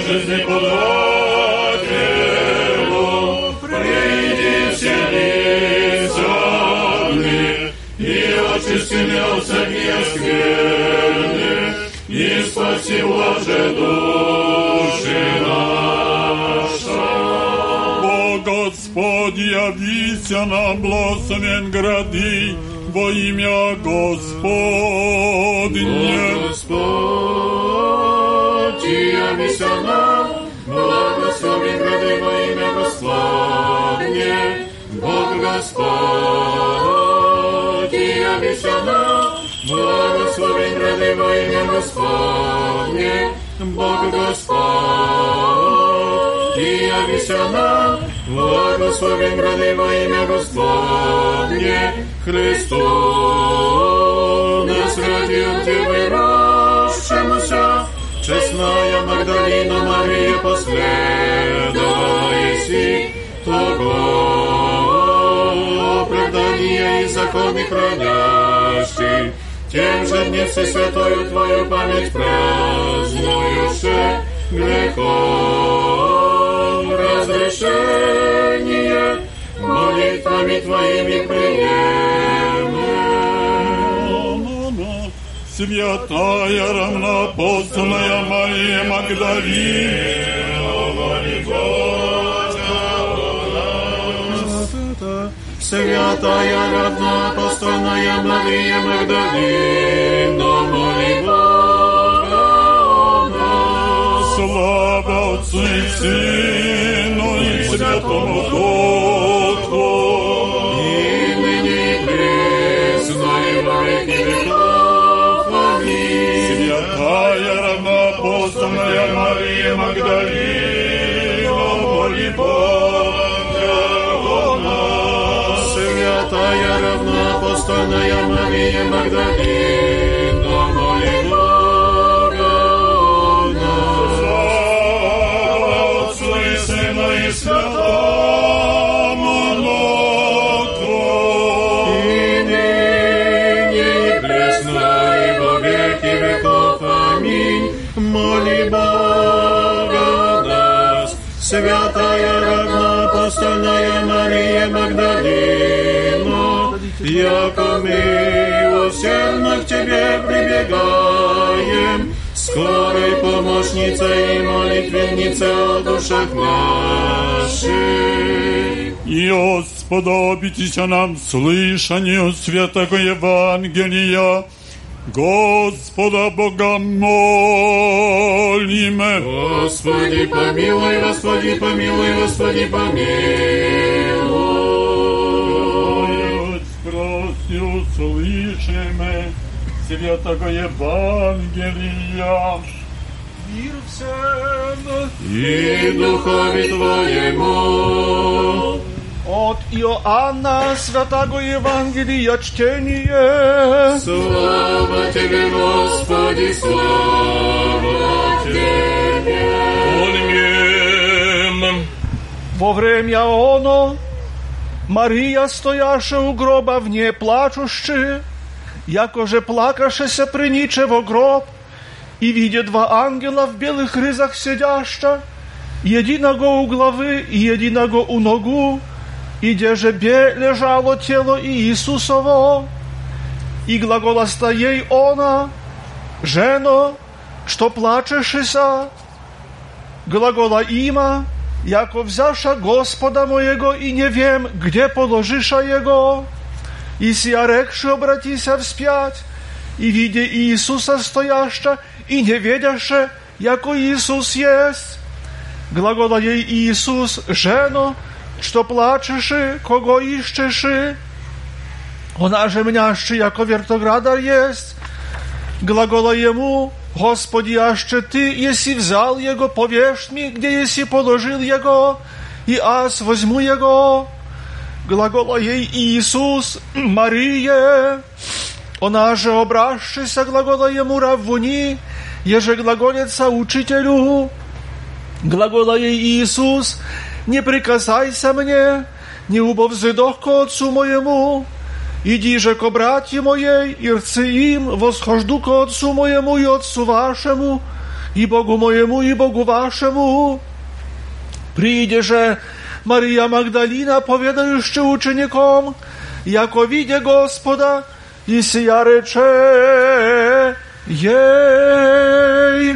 жизнеподателю, приди вселися мне, и очисти меня от всякие скверны, и спаси блаже души наша. О Господи, явися нам, благословен гради, во имя Господне. Господи, явися нам, благословен гради, во имя Господне. Бог Господи, явися нам, благословен гради, во имя Господне. Бог Господи, явися нам, благословен гради, во имя Господне. Христу нас ради Девы рождшемуся, честная Магдалина Мария последовала еси того оправдания и законы хранящий. Тем же дне все святою Твою память празднующе, грехов разрешение молитвами Твоими приемы. Святая равноапостольная Мария Магдалина, моли Бога о нас. Святая равноапостольная Мария Магдалина, моли Бога о нас. Слава Отцу и Сыну и Святому Духу, и ныне и присно и во веки веков. Аминь. Святая равноапостольная Мария Магдалина, моли Бога о нас. Святая равноапостольная Мария Магдалина, моли Бога о нас. Слава Отцу и Сыну и Святому Духу, и ныне и пресно и во веки веков. Аминь. Моли Бога о нас. Святая равноапостольная Мария Магдалина, яко мы усердно к Тебе прибегаем, скорой помощницей и молитвенницей о душах наших. И Господа нам слышанию святого Евангелия, Господа Бога молиме. Господи, помилуй, Господи, помилуй, Господи, помилуй. Спроси, услышиме святого Евангелия. Мир всем и Духови Твоему. От Иоанна Святого Евангелия чтение. Слава Тебе, Господи, слава Тебе. Аминь. Во время оно Мария, стояша у гроба вне плачущи, якоже плакашеся приниче во гроб, и видя два ангела в белых ризах сидяща, единого у главы и единого у ногу, и где же бе лежало тело Иисусово, и глаголаста ей она: «Жено, что плачешеся?» Глагола има: «Яко взяша Господа моего, и не вем, где положиша его». И сия рекши обратися вспять, и видя Иисуса стояща, и не ведяше, яко Иисус есть. Глагола ей Иисус: «Жено, что плачеши, кого ищеши?» Она же мнящи, яко вертоградар есть. Глагола ему: «Господи, аще ты, еси взял его, повешь ми, где еси положил его, и аз возьму его». Глагола ей Иисус: «Мария». Она же обращися, глагола ему: «Раввуни», еже глаголеца учителю. Глагола ей Иисус: «Не прикасайся мне, не убовзидох ко отцу моему. Иди же ко братья моей, и рцы им, восхожду ко отцу моему и отцу вашему, и Богу моему и Богу вашему». Прииде же Мария Магдалина, поведающа учеником, яко видя Господа, и сия рече ей: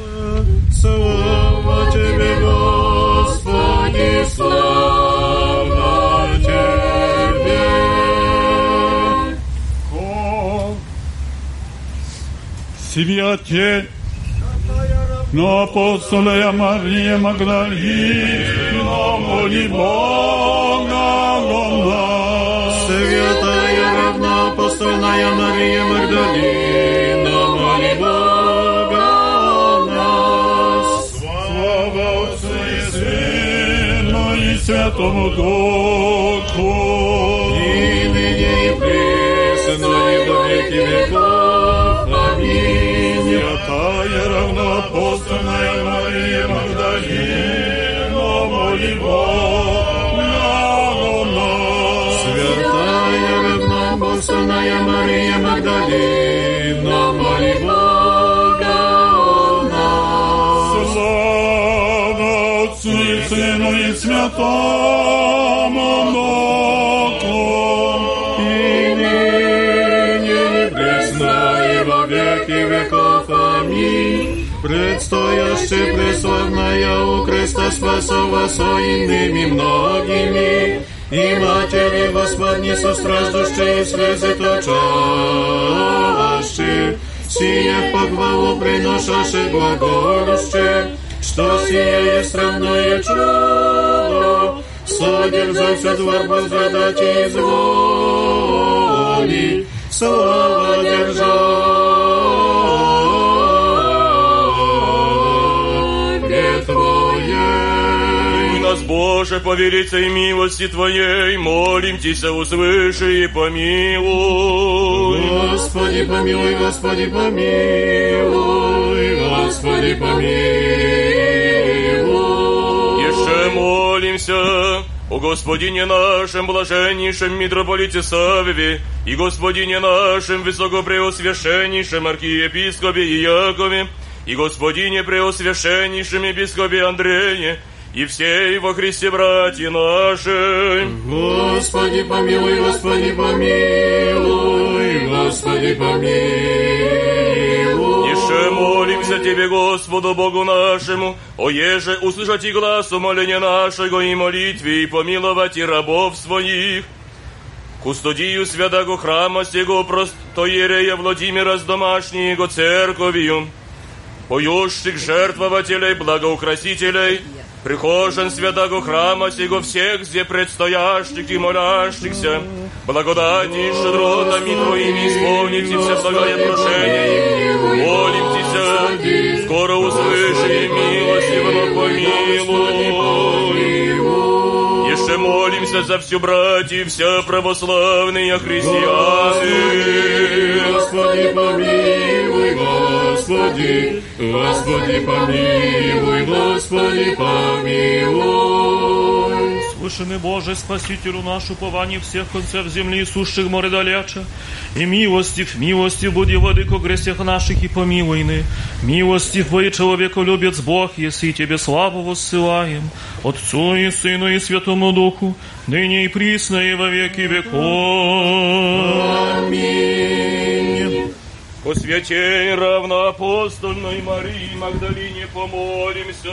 «Слава тебе, Господи, слава тебе». Святе на апостоля Мария Магдалина, моли Бога о нас. Святая равноапостольная Мария Магдалина, моли Бога о нас. Слава Отцу и Сыну и Святому Духу, и ныне и присно и во веки веков. Аминь. Святая равноапостольная Мария Магдалина, моли Бога о нас. Святая равноапостольная Мария Магдалина, моли Бога о нас. Слава Отцу и Сыну и Святому Духу, и ныне и присно и во веки веков. Аминь. Предстояще преславная у креста спасова соинными многими, и матери Господни состраждущие слезы точащие, сие в похвалу приношаше глаголюще, что сие есть равное чудо, содержался двор возрадать и изволи, слава держать. Нас, Боже, по великой милости Твоей, молим Тися, услыши и помилуй. Господи, помилуй, Господи, помилуй, Господи, помилуй. Еще молимся о Господине нашем, блаженнейшем митрополите Савве, и Господине нашем, высокопреосвященнейшем архиепископе Иакове, и Господине преосвященнейшем епископе Андрее, и все во Христе братья наши. Господи, помилуй, Господи, помилуй, Господи, помилуй. Еще молимся Тебе, Господу Богу нашему, о еже услышать и глаз умоления нашего и молитве, и помиловать и рабов своих. Кустодию святого храма сего простоиерея Владимира с домашней его церковью, поющих жертвователей, благоукрасителей, прихожан святого храма сего всех, где предстоящих и молящихся, благодати и щедротами Твоими исполните все благое прошение их. Молимтеся, скоро услыши и милостиво помилуй. Еще молимся за всю братья, вся православные христианы. Господи, помилуй, Господи, Господи, помилуй, Господи, помилуй. возвышенный Боже, Спасителю наш, упование всех концев земли и сущих море далече, и милостив, милостив буди, владыко, грехах наших и помилуйны, милостив бой, человеколюбец Бог, если Тебе славу воссылаем, Отцу и Сыну и Святому Духу, ныне и присно и во веки веков. Аминь. По святей равноапостольной Марии Магдалине помолимся.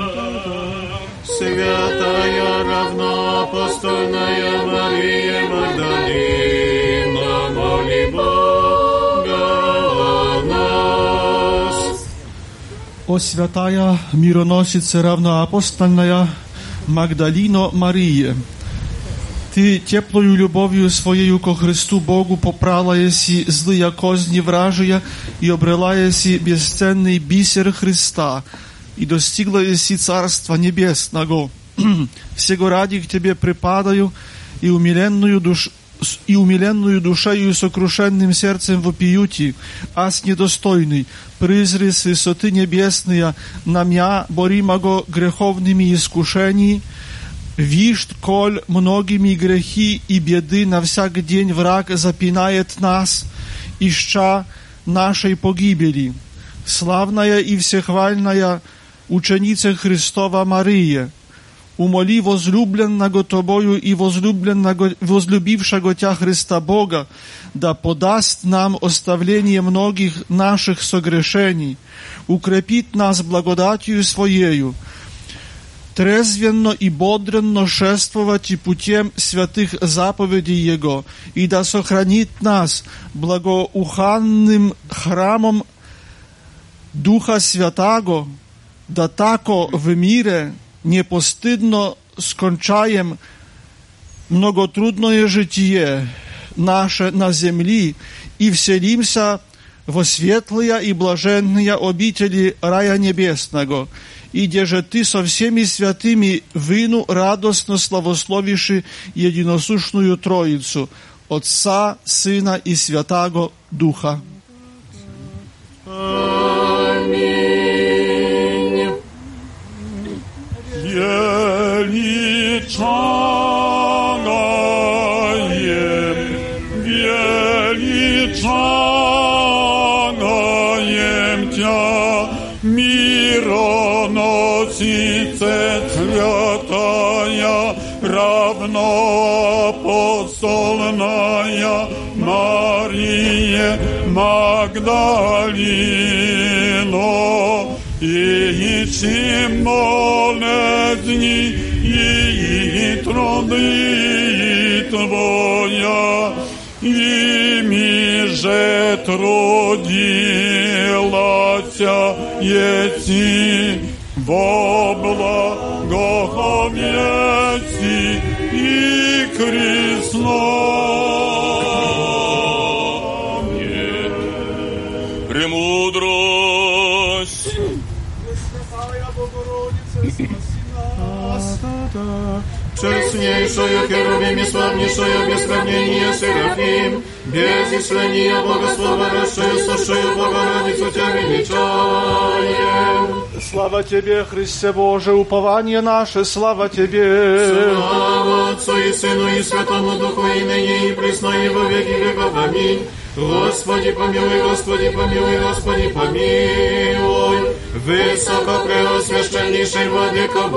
Святая равноапостольная Мария Магдалина, моли Бога о нас. О святая мироносица равноапостольная Магдалино Мария, Ты теплою любовью Своею ко Христу Богу попрала еси злые козни вражия и обрела еси бесценный бисер Христа и достигла еси Царства Небесного. Всего ради к Тебе припадаю и умиленную душ... и умиленную душею и сокрушенным сердцем вопиюти, ас недостойный, призри с высоты небесные на мя, боримого греховными искушениями, вишь, коль многими грехи и беды на всяк день враг запинает нас, ища нашей погибели. Славная и всехвальная ученица Христова Мария, умоли возлюбленного Тобою и возлюбленного, возлюбившего Тя Христа Бога, да подаст нам оставление многих наших согрешений, укрепит нас благодатью Своею, трезвенно и бодренно шествовать и путем святых заповедей Его, и да сохранит нас благоуханным храмом Духа Святаго, да тако в мире непостыдно скончаем многотрудное житие наше на земли и вселимся во светлые и блаженные обители рая небесного, и деже Ты со всеми святыми вину радостно славословиши единосущную Троицу, Отца, Сына и Святаго Духа. Аминь. Величагаем, величагаем Тя, мироносице святая, равноапостольная Мария Магдалино, и чем болезни и труды Твоя, ими же трудилась еси во благовеси и крестное. Премудрость. Честнейшую херувим и славнейшую без сравнения Серафим, без исчисления благословившую, сущую Богородицу Тебя величаем. Слава Тебе, Христе Боже, упование наше, слава Тебе. Слава Отцу и Сыну и Святому Духу, и ныне и присно и во веки веков. Аминь. Господи помилуй, Господи помилуй, Господи помилуй. Высокопреосвященнейший Владыко,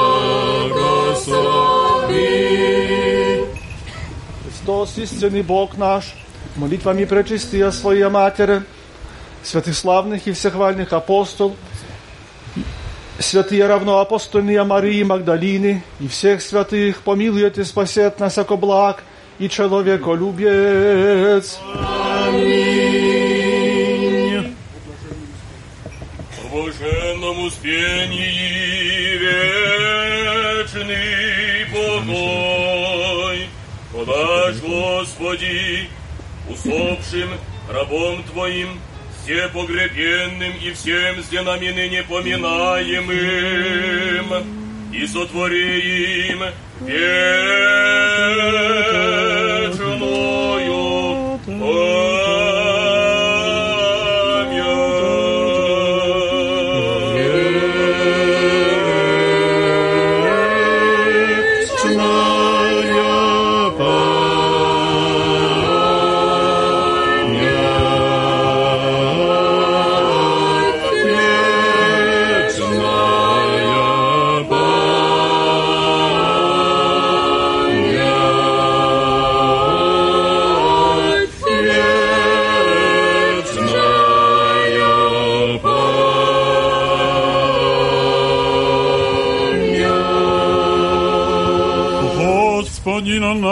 благослови. Христос, истинный Бог наш, молитвами пречистия Своя Матери, святых славных и всехвальных апостол, святые равноапостольные Марии Магдалины и всех святых, помилует и спасет нас, яко благ и человеколюбец. Аминь. В блаженном успении вечный покой подашь, Господи, усопшим рабом Твоим, все погребенным и всем с денами ныне поминаемым, и сотвори им вечную память.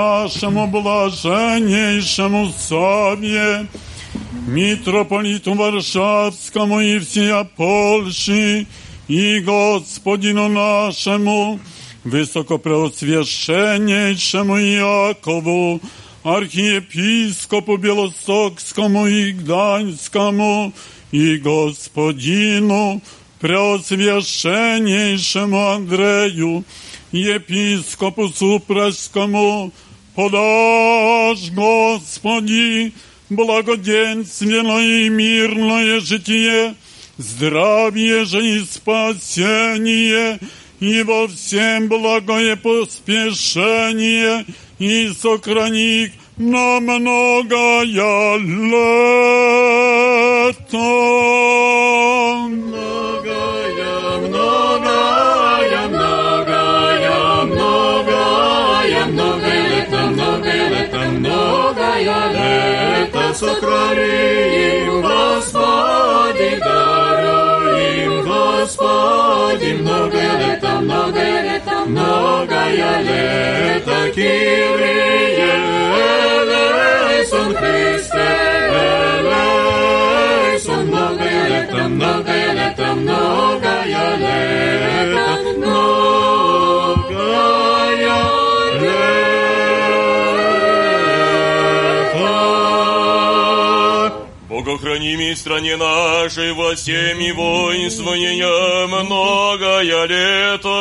нашему блаженнейшему Саве, митрополиту Варшавскому и всея Польши, и Господину нашему, высокопреосвященнейшему Якову, архиепископу Белостокскому и Гданьскому, и Господину преосвященнейшему Андрею, епископу Супрасскому, подашь, Господи, благоденственное и мирное житие, здравие же и спасение, и во всем благое поспешение, и сохрани на многое лето. Многое, многое, многое, многое, многое лето, многое лето, многое лето, сохрани им, Господи, даруй им, Господи, многое лето, многое лето, многое лето, Кирие, элейсон, Христе, элейсон, многое лето, многое лето, многое лето, многое лето. Богохраними стране нашей во всеми воинствования многое лето.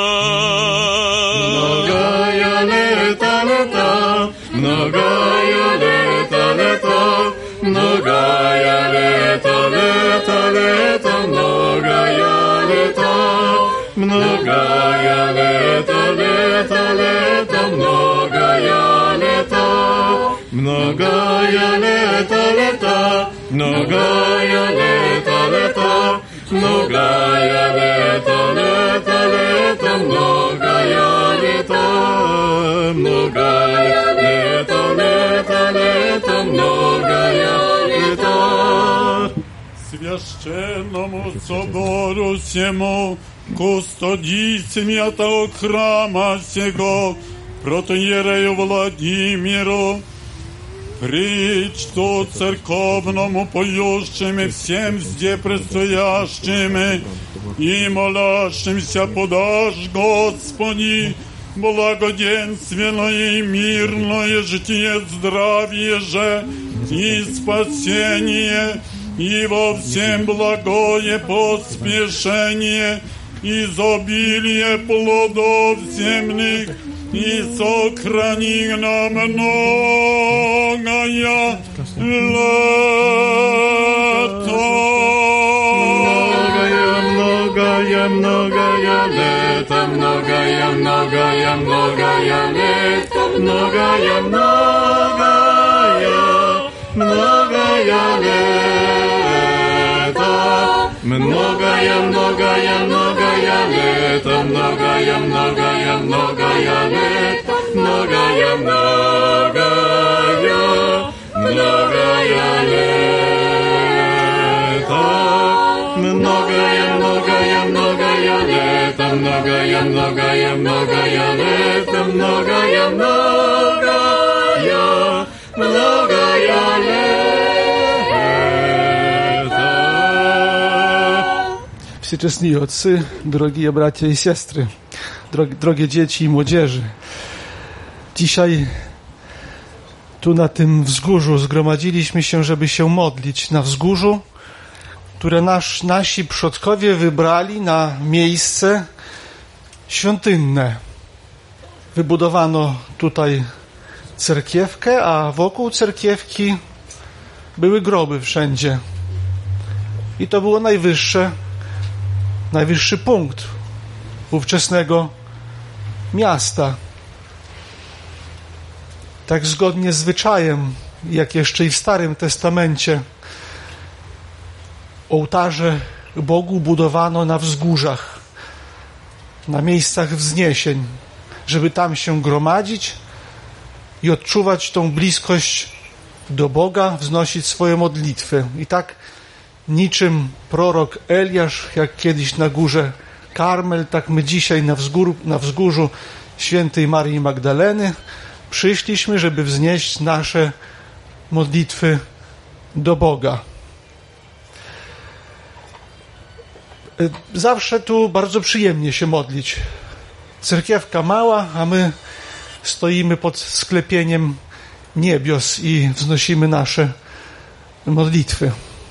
Многое лето, лето, многое лето, лето, многое лето, лето, лето, многое лето, многое лето, лето, лето, многое лето, многое лето, лето, многое лето, лето, многое лето, лето, лето, многое лето, многое лето, лето, лето, многое лето. Священному собору всему, кустодийцам этого храма сего, протоиерею Владимиру, причту церковному поющими всем зде предстоящими и молящимся подашь, Господи, благоденственное и мирное житие, здравие же и спасение, и во всем благое поспешение, изобилие плодов земных, и сохрани нам многое лето. Многое, многое лето, многое, многое, многое лето, многое, многое, многое лето, многое, многое, многое лето, многое, многое, многое лето, многое, многое, многое лето, многое, многое, многое лето, многое, многое, многое лето, многое, многое, многое лето. Всечестni отцы, дорогие братья и сестры, drogie dzieci i młodzieży. Dzisiaj tu na tym wzgórzu zgromadziliśmy się, żeby się modlić na wzgórzu, które nasz, nasi przodkowie wybrali na miejsce świątynne. Wybudowano tutaj cerkiewkę, a wokół cerkiewki były groby wszędzie. I to było najwyższe, najwyższy punkt ówczesnego miasta. Tak zgodnie z zwyczajem, jak jeszcze i w Starym Testamencie, ołtarze Bogu budowano na wzgórzach, na miejscach wzniesień, żeby tam się gromadzić i odczuwać tą bliskość do Boga, wznosić swoje modlitwy. I tak niczym prorok Eliasz, jak kiedyś na górze Karmel, tak my dzisiaj na, wzgór, na wzgórzu świętej Marii Magdaleny Przyszliśmy, żeby wznieść nasze modlitwy do Boga. Zawsze tu bardzo przyjemnie się modlić. Cerkiewka mała, a my stoimy pod sklepieniem niebios i wznosimy nasze modlitwy.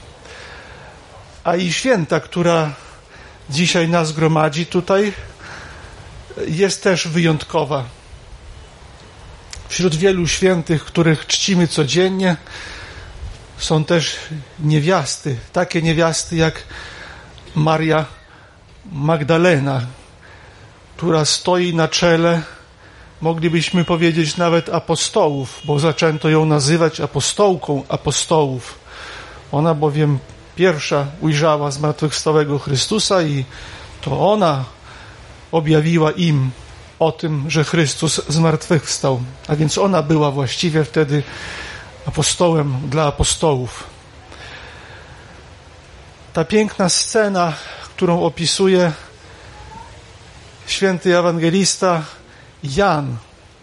A i święta, która dzisiaj nas gromadzi tutaj, jest też wyjątkowa. Wśród wielu świętych, których czcimy codziennie, są też niewiasty, takie niewiasty jak Maria Magdalena, która stoi na czele, moglibyśmy powiedzieć nawet apostołów, bo zaczęto ją nazywać apostołką apostołów. Ona bowiem pierwsza ujrzała zmartwychwstałego Chrystusa i to ona objawiła im o tym, że Chrystus zmartwychwstał. A więc ona była właściwie wtedy apostołem dla apostołów. Ta piękna scena, którą opisuje święty ewangelista Jan,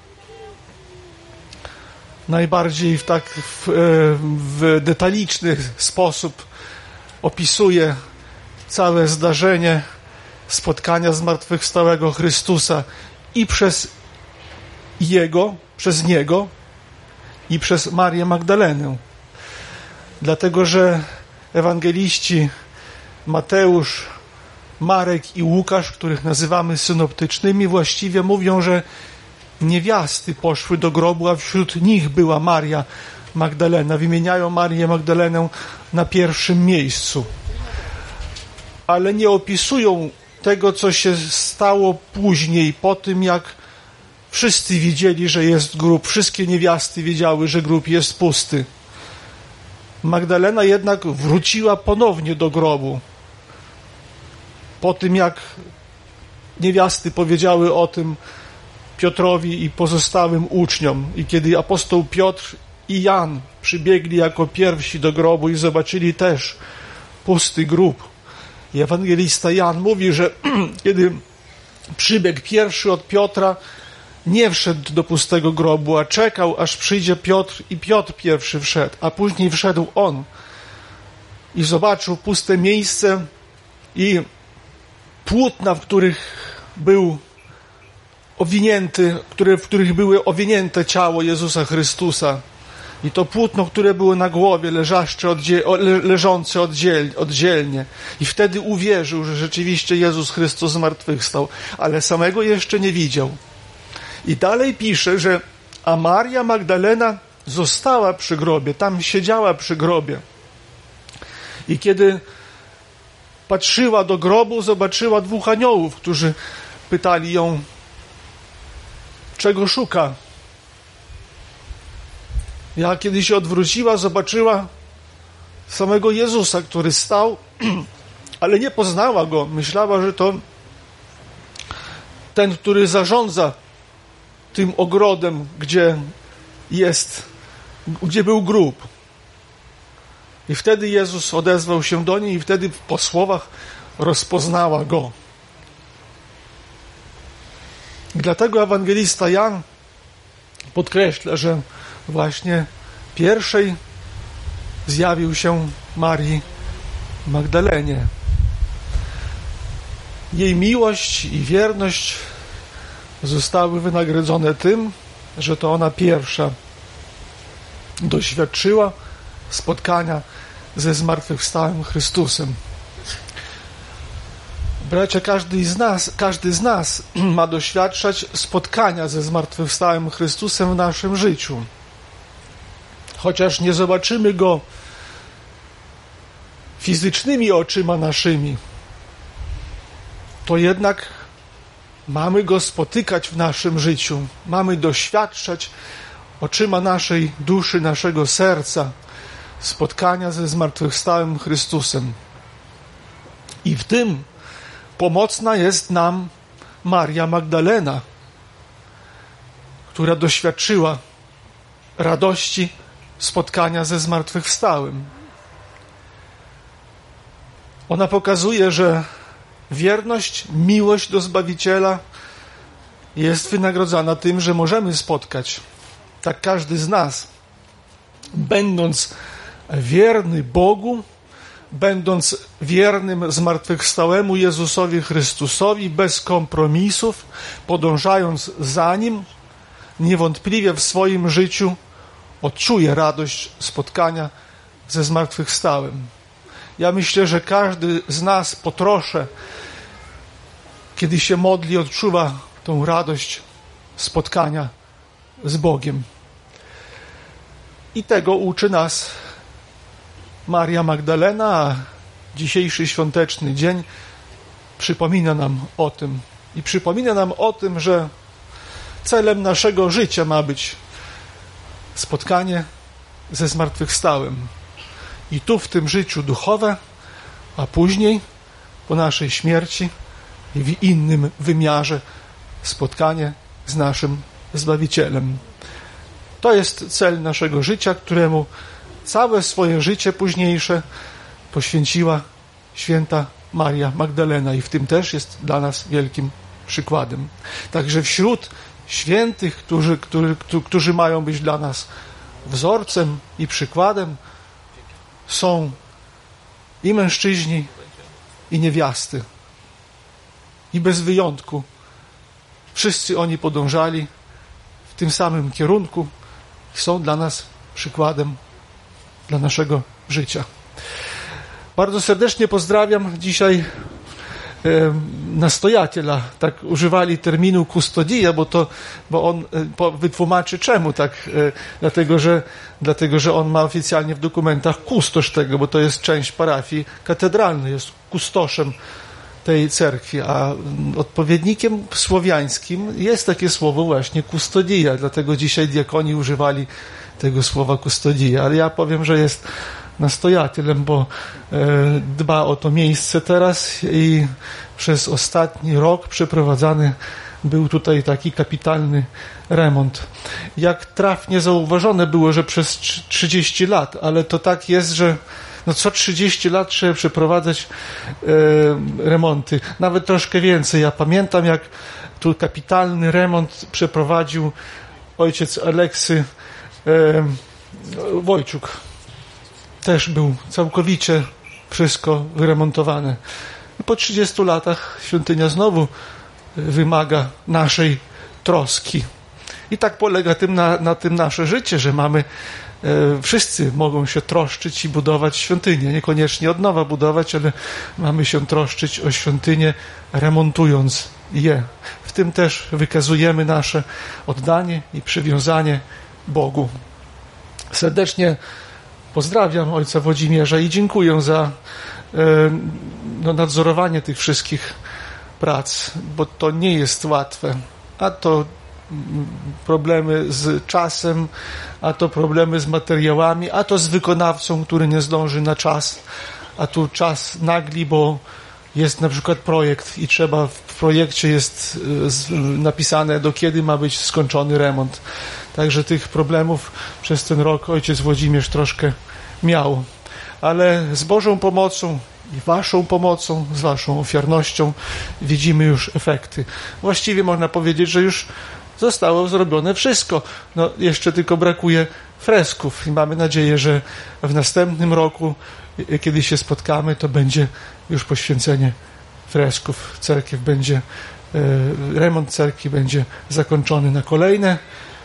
najbardziej w tak w, w detaliczny sposób opisuje całe zdarzenie spotkania zmartwychwstałego Chrystusa i przez Jego, przez Niego i przez Marię Magdalenę. Dlatego, że ewangeliści Mateusz, Marek i Łukasz, których nazywamy synoptycznymi, właściwie mówią, że niewiasty poszły do grobu, a wśród nich była Maria Magdalena. Wymieniają Marię Magdalenę na pierwszym miejscu. Ale nie opisują tego, co się stało później, po tym jak wszyscy widzieli, że jest grób. Wszystkie niewiasty wiedziały, że grób jest pusty. Magdalena jednak wróciła ponownie do grobu. Po tym jak niewiasty powiedziały o tym Piotrowi i pozostałym uczniom. I kiedy apostoł Piotr i Jan przybiegli jako pierwsi do grobu i zobaczyli też pusty grób. I ewangelista Jan mówi, że kiedy przybiegł pierwszy od Piotra, nie wszedł do pustego grobu, a czekał, aż przyjdzie Piotr i Piotr pierwszy wszedł, a później wszedł on i zobaczył puste miejsce i płótna, w których był owinięty, które, w których były owinięte ciało Jezusa Chrystusa. I to płótno, które było na głowie, leżaще oddziel, le, leżące oddziel, oddzielnie. I wtedy uwierzył, że rzeczywiście Jezus Chrystus zmartwychwstał, ale samego jeszcze nie widział. I dalej pisze, że a Maria Magdalena została przy grobie, tam siedziała przy grobie. I kiedy patrzyła do grobu, zobaczyła dwóch aniołów, którzy pytali ją, czego szuka. Ja kiedy się odwróciła, zobaczyła samego Jezusa, który stał, ale nie poznała Go. Myślała, że to ten, który zarządza tym ogrodem, gdzie jest, gdzie był grób. I wtedy Jezus odezwał się do niej i wtedy po słowach rozpoznała Go. I dlatego ewangelista Jan podkreśla, że właśnie pierwszej zjawił się Marii Magdalenie. Jej miłość i wierność zostały wynagrodzone tym, że to ona pierwsza doświadczyła spotkania ze zmartwychwstałym Chrystusem. Bracia, każdy z nas, każdy z nas ma doświadczać spotkania ze zmartwychwstałym Chrystusem w naszym życiu. Chociaż nie zobaczymy Go fizycznymi oczyma naszymi, to jednak mamy Go spotykać w naszym życiu. Mamy doświadczać oczyma naszej duszy, naszego serca spotkania ze zmartwychwstałym Chrystusem. I w tym pomocna jest nam Maria Magdalena, która doświadczyła radości spotkania ze zmartwychwstałym. Ona pokazuje, że wierność, miłość do Zbawiciela jest wynagrodzana tym, że możemy spotkać tak każdy z nas, będąc wierny Bogu, będąc wiernym zmartwychwstałemu Jezusowi Chrystusowi, bez kompromisów, podążając za Nim, niewątpliwie w swoim życiu odczuje radość spotkania ze zmartwychwstałym. Ja myślę, że każdy z nas po trosze, kiedy się modli, odczuwa tą radość spotkania z Bogiem. I tego uczy nas Maria Magdalena, a dzisiejszy świąteczny dzień przypomina nam o tym. I przypomina nam o tym, że celem naszego życia ma być spotkanie ze zmartwychwstałym. I tu w tym życiu duchowe, a później po naszej śmierci i w innym wymiarze spotkanie z naszym Zbawicielem. To jest cel naszego życia, któremu całe swoje życie późniejsze poświęciła święta Maria Magdalena i w tym też jest dla nas wielkim przykładem. Także wśród świętych, którzy, którzy, którzy mają być dla nas wzorcem i przykładem, są i mężczyźni, i niewiasty. I bez wyjątku wszyscy oni podążali w tym samym kierunku i są dla nas przykładem dla naszego życia. Bardzo serdecznie pozdrawiam dzisiaj e, nastojatela. Tak używali terminu kustodia, bo to, bo on e, po, wytłumaczy czemu tak. E, dlatego, że, dlatego, że on ma oficjalnie w dokumentach kustosz tego, bo to jest część parafii katedralnej, jest kustoszem tej cerkwi, a odpowiednikiem słowiańskim jest takie słowo właśnie kustodia, dlatego dzisiaj diakoni używali tego słowa kustodia, ale ja powiem, że jest nastojatelem, bo e, dba o to miejsce teraz i przez ostatni rok przeprowadzany był tutaj taki kapitalny remont. Jak trafnie zauważone było, że przez trzydzieści lat, ale to tak jest, że no co trzydzieści lat trzeba przeprowadzać e, remonty. Nawet troszkę więcej. Ja pamiętam, jak tu kapitalny remont przeprowadził ojciec Aleksy e, Wojczuk. Też był całkowicie wszystko wyremontowane. Po trzydziestu latach świątynia znowu wymaga naszej troski. I tak polega tym na, na tym nasze życie, że mamy wszyscy mogą się troszczyć i budować świątynię. Niekoniecznie od nowa budować, ale mamy się troszczyć o świątynię, remontując je. W tym też wykazujemy nasze oddanie i przywiązanie Bogu. Serdecznie pozdrawiam ojca Włodzimierza i dziękuję za e, no, nadzorowanie tych wszystkich prac, bo to nie jest łatwe. A to problemy z czasem, a to problemy z materiałami, a to z wykonawcą, który nie zdąży na czas, a tu czas nagli, bo jest na przykład projekt i trzeba, w projekcie jest napisane, do kiedy ma być skończony remont. Także tych problemów przez ten rok ojciec Włodzimierz troszkę miał. Ale z Bożą pomocą i waszą pomocą, z waszą ofiarnością widzimy już efekty. Właściwie można powiedzieć, że już zostało zrobione wszystko. No, jeszcze tylko brakuje fresków i mamy nadzieję, że w następnym roku, kiedy się spotkamy, to będzie już poświęcenie fresków. Cerkiew będzie, remont cerkwi będzie zakończony na kolejne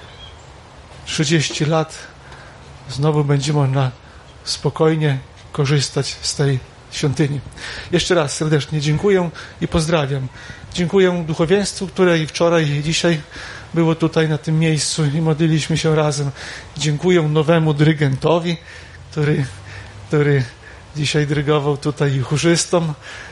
trzydzieści lat. Znowu będzie można spokojnie korzystać z tej świątyni. Jeszcze raz serdecznie dziękuję i pozdrawiam. Dziękuję duchowieństwu, które i wczoraj, i dzisiaj było tutaj na tym miejscu i modliliśmy się razem. Dziękuję nowemu dyrygentowi, który, który dzisiaj dyrygował tutaj chórzystom.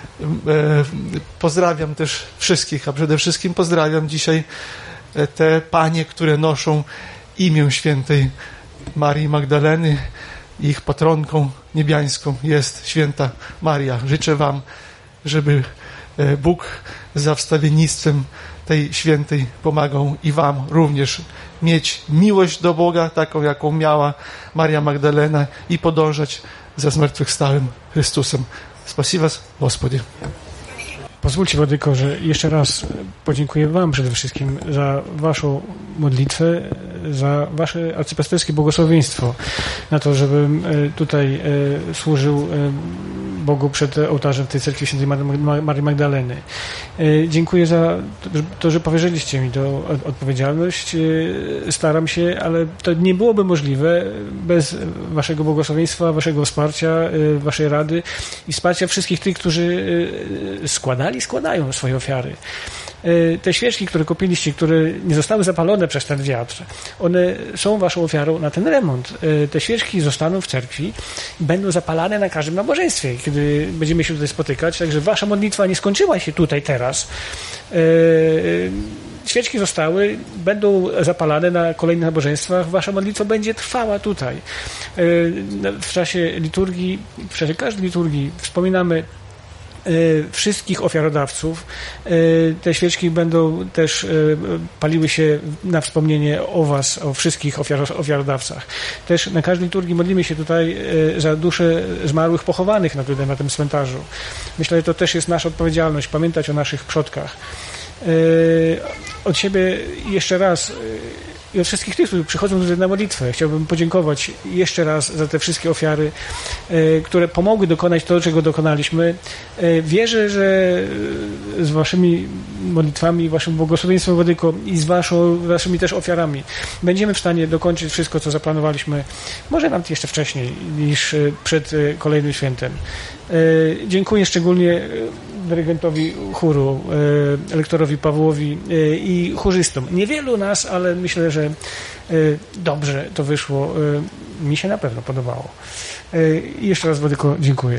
Pozdrawiam też wszystkich, a przede wszystkim pozdrawiam dzisiaj te panie, które noszą imię świętej Marii Magdaleny. Ich patronką niebiańską jest święta Maria. Życzę wam, żeby Bóg za wstawiennictwem tej świętej pomagał i wam również mieć miłość do Boga, taką jaką miała Maria Magdalena i podążać za zmartwychwstałym Chrystusem. Spasi was, Gospodzie. Pozwólcie, Władyko, że jeszcze raz podziękuję wam przede wszystkim za waszą modlitwę, za wasze arcypasterskie błogosławieństwo na to, żebym tutaj służył Bogu przed ołtarzem tej cerkwi świętej Marii Magdaleny. Dziękuję za to, że powierzyliście mi tę odpowiedzialność. Staram się, ale to nie byłoby możliwe bez waszego błogosławieństwa, waszego wsparcia, waszej rady i wsparcia wszystkich tych, którzy składali, składają swoje ofiary. Te świeczki, które kupiliście, które nie zostały zapalone przez ten wiatr, one są waszą ofiarą na ten remont. Te świeczki zostaną w cerkwi i będą zapalane na każdym nabożeństwie, kiedy będziemy się tutaj spotykać. Także wasza modlitwa nie skończyła się tutaj teraz. Świeczki zostały, będą zapalane na kolejnych nabożeństwach. Wasza modlitwa będzie trwała tutaj. W czasie liturgii, w czasie każdej liturgii wspominamy wszystkich ofiarodawców. Te świeczki będą też paliły się na wspomnienie o was, o wszystkich ofiar- ofiarodawcach. Też na każdej liturgii modlimy się tutaj za dusze zmarłych pochowanych na, tutaj, na tym cmentarzu. Myślę, że to też jest nasza odpowiedzialność, pamiętać o naszych przodkach. Od siebie jeszcze raz i od wszystkich tych, którzy przychodzą tutaj na modlitwę, chciałbym podziękować jeszcze raz za te wszystkie ofiary, które pomogły dokonać to, czego dokonaliśmy. Wierzę, że z waszymi modlitwami, waszym błogosławieństwem, Władyko, i z waszą, waszymi też ofiarami będziemy w stanie dokończyć wszystko, co zaplanowaliśmy, może nawet jeszcze wcześniej niż przed kolejnym świętem. Dziękuję szczególnie dyrygentowi chóru, lektorowi Pawłowi i chórzystom. Niewielu nas, ale myślę, że dobrze to wyszło. Mi się na pewno podobało. I jeszcze raz, Władyko, dziękuję.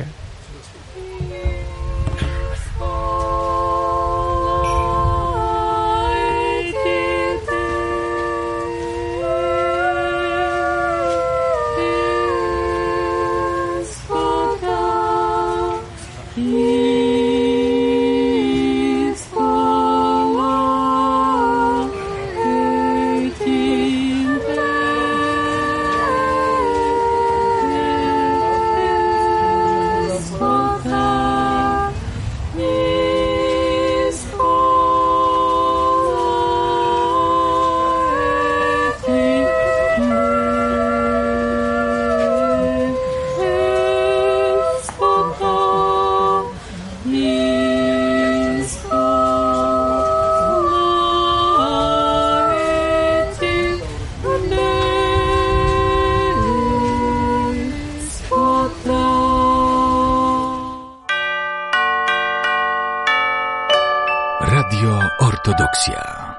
Radio Ortodoksja.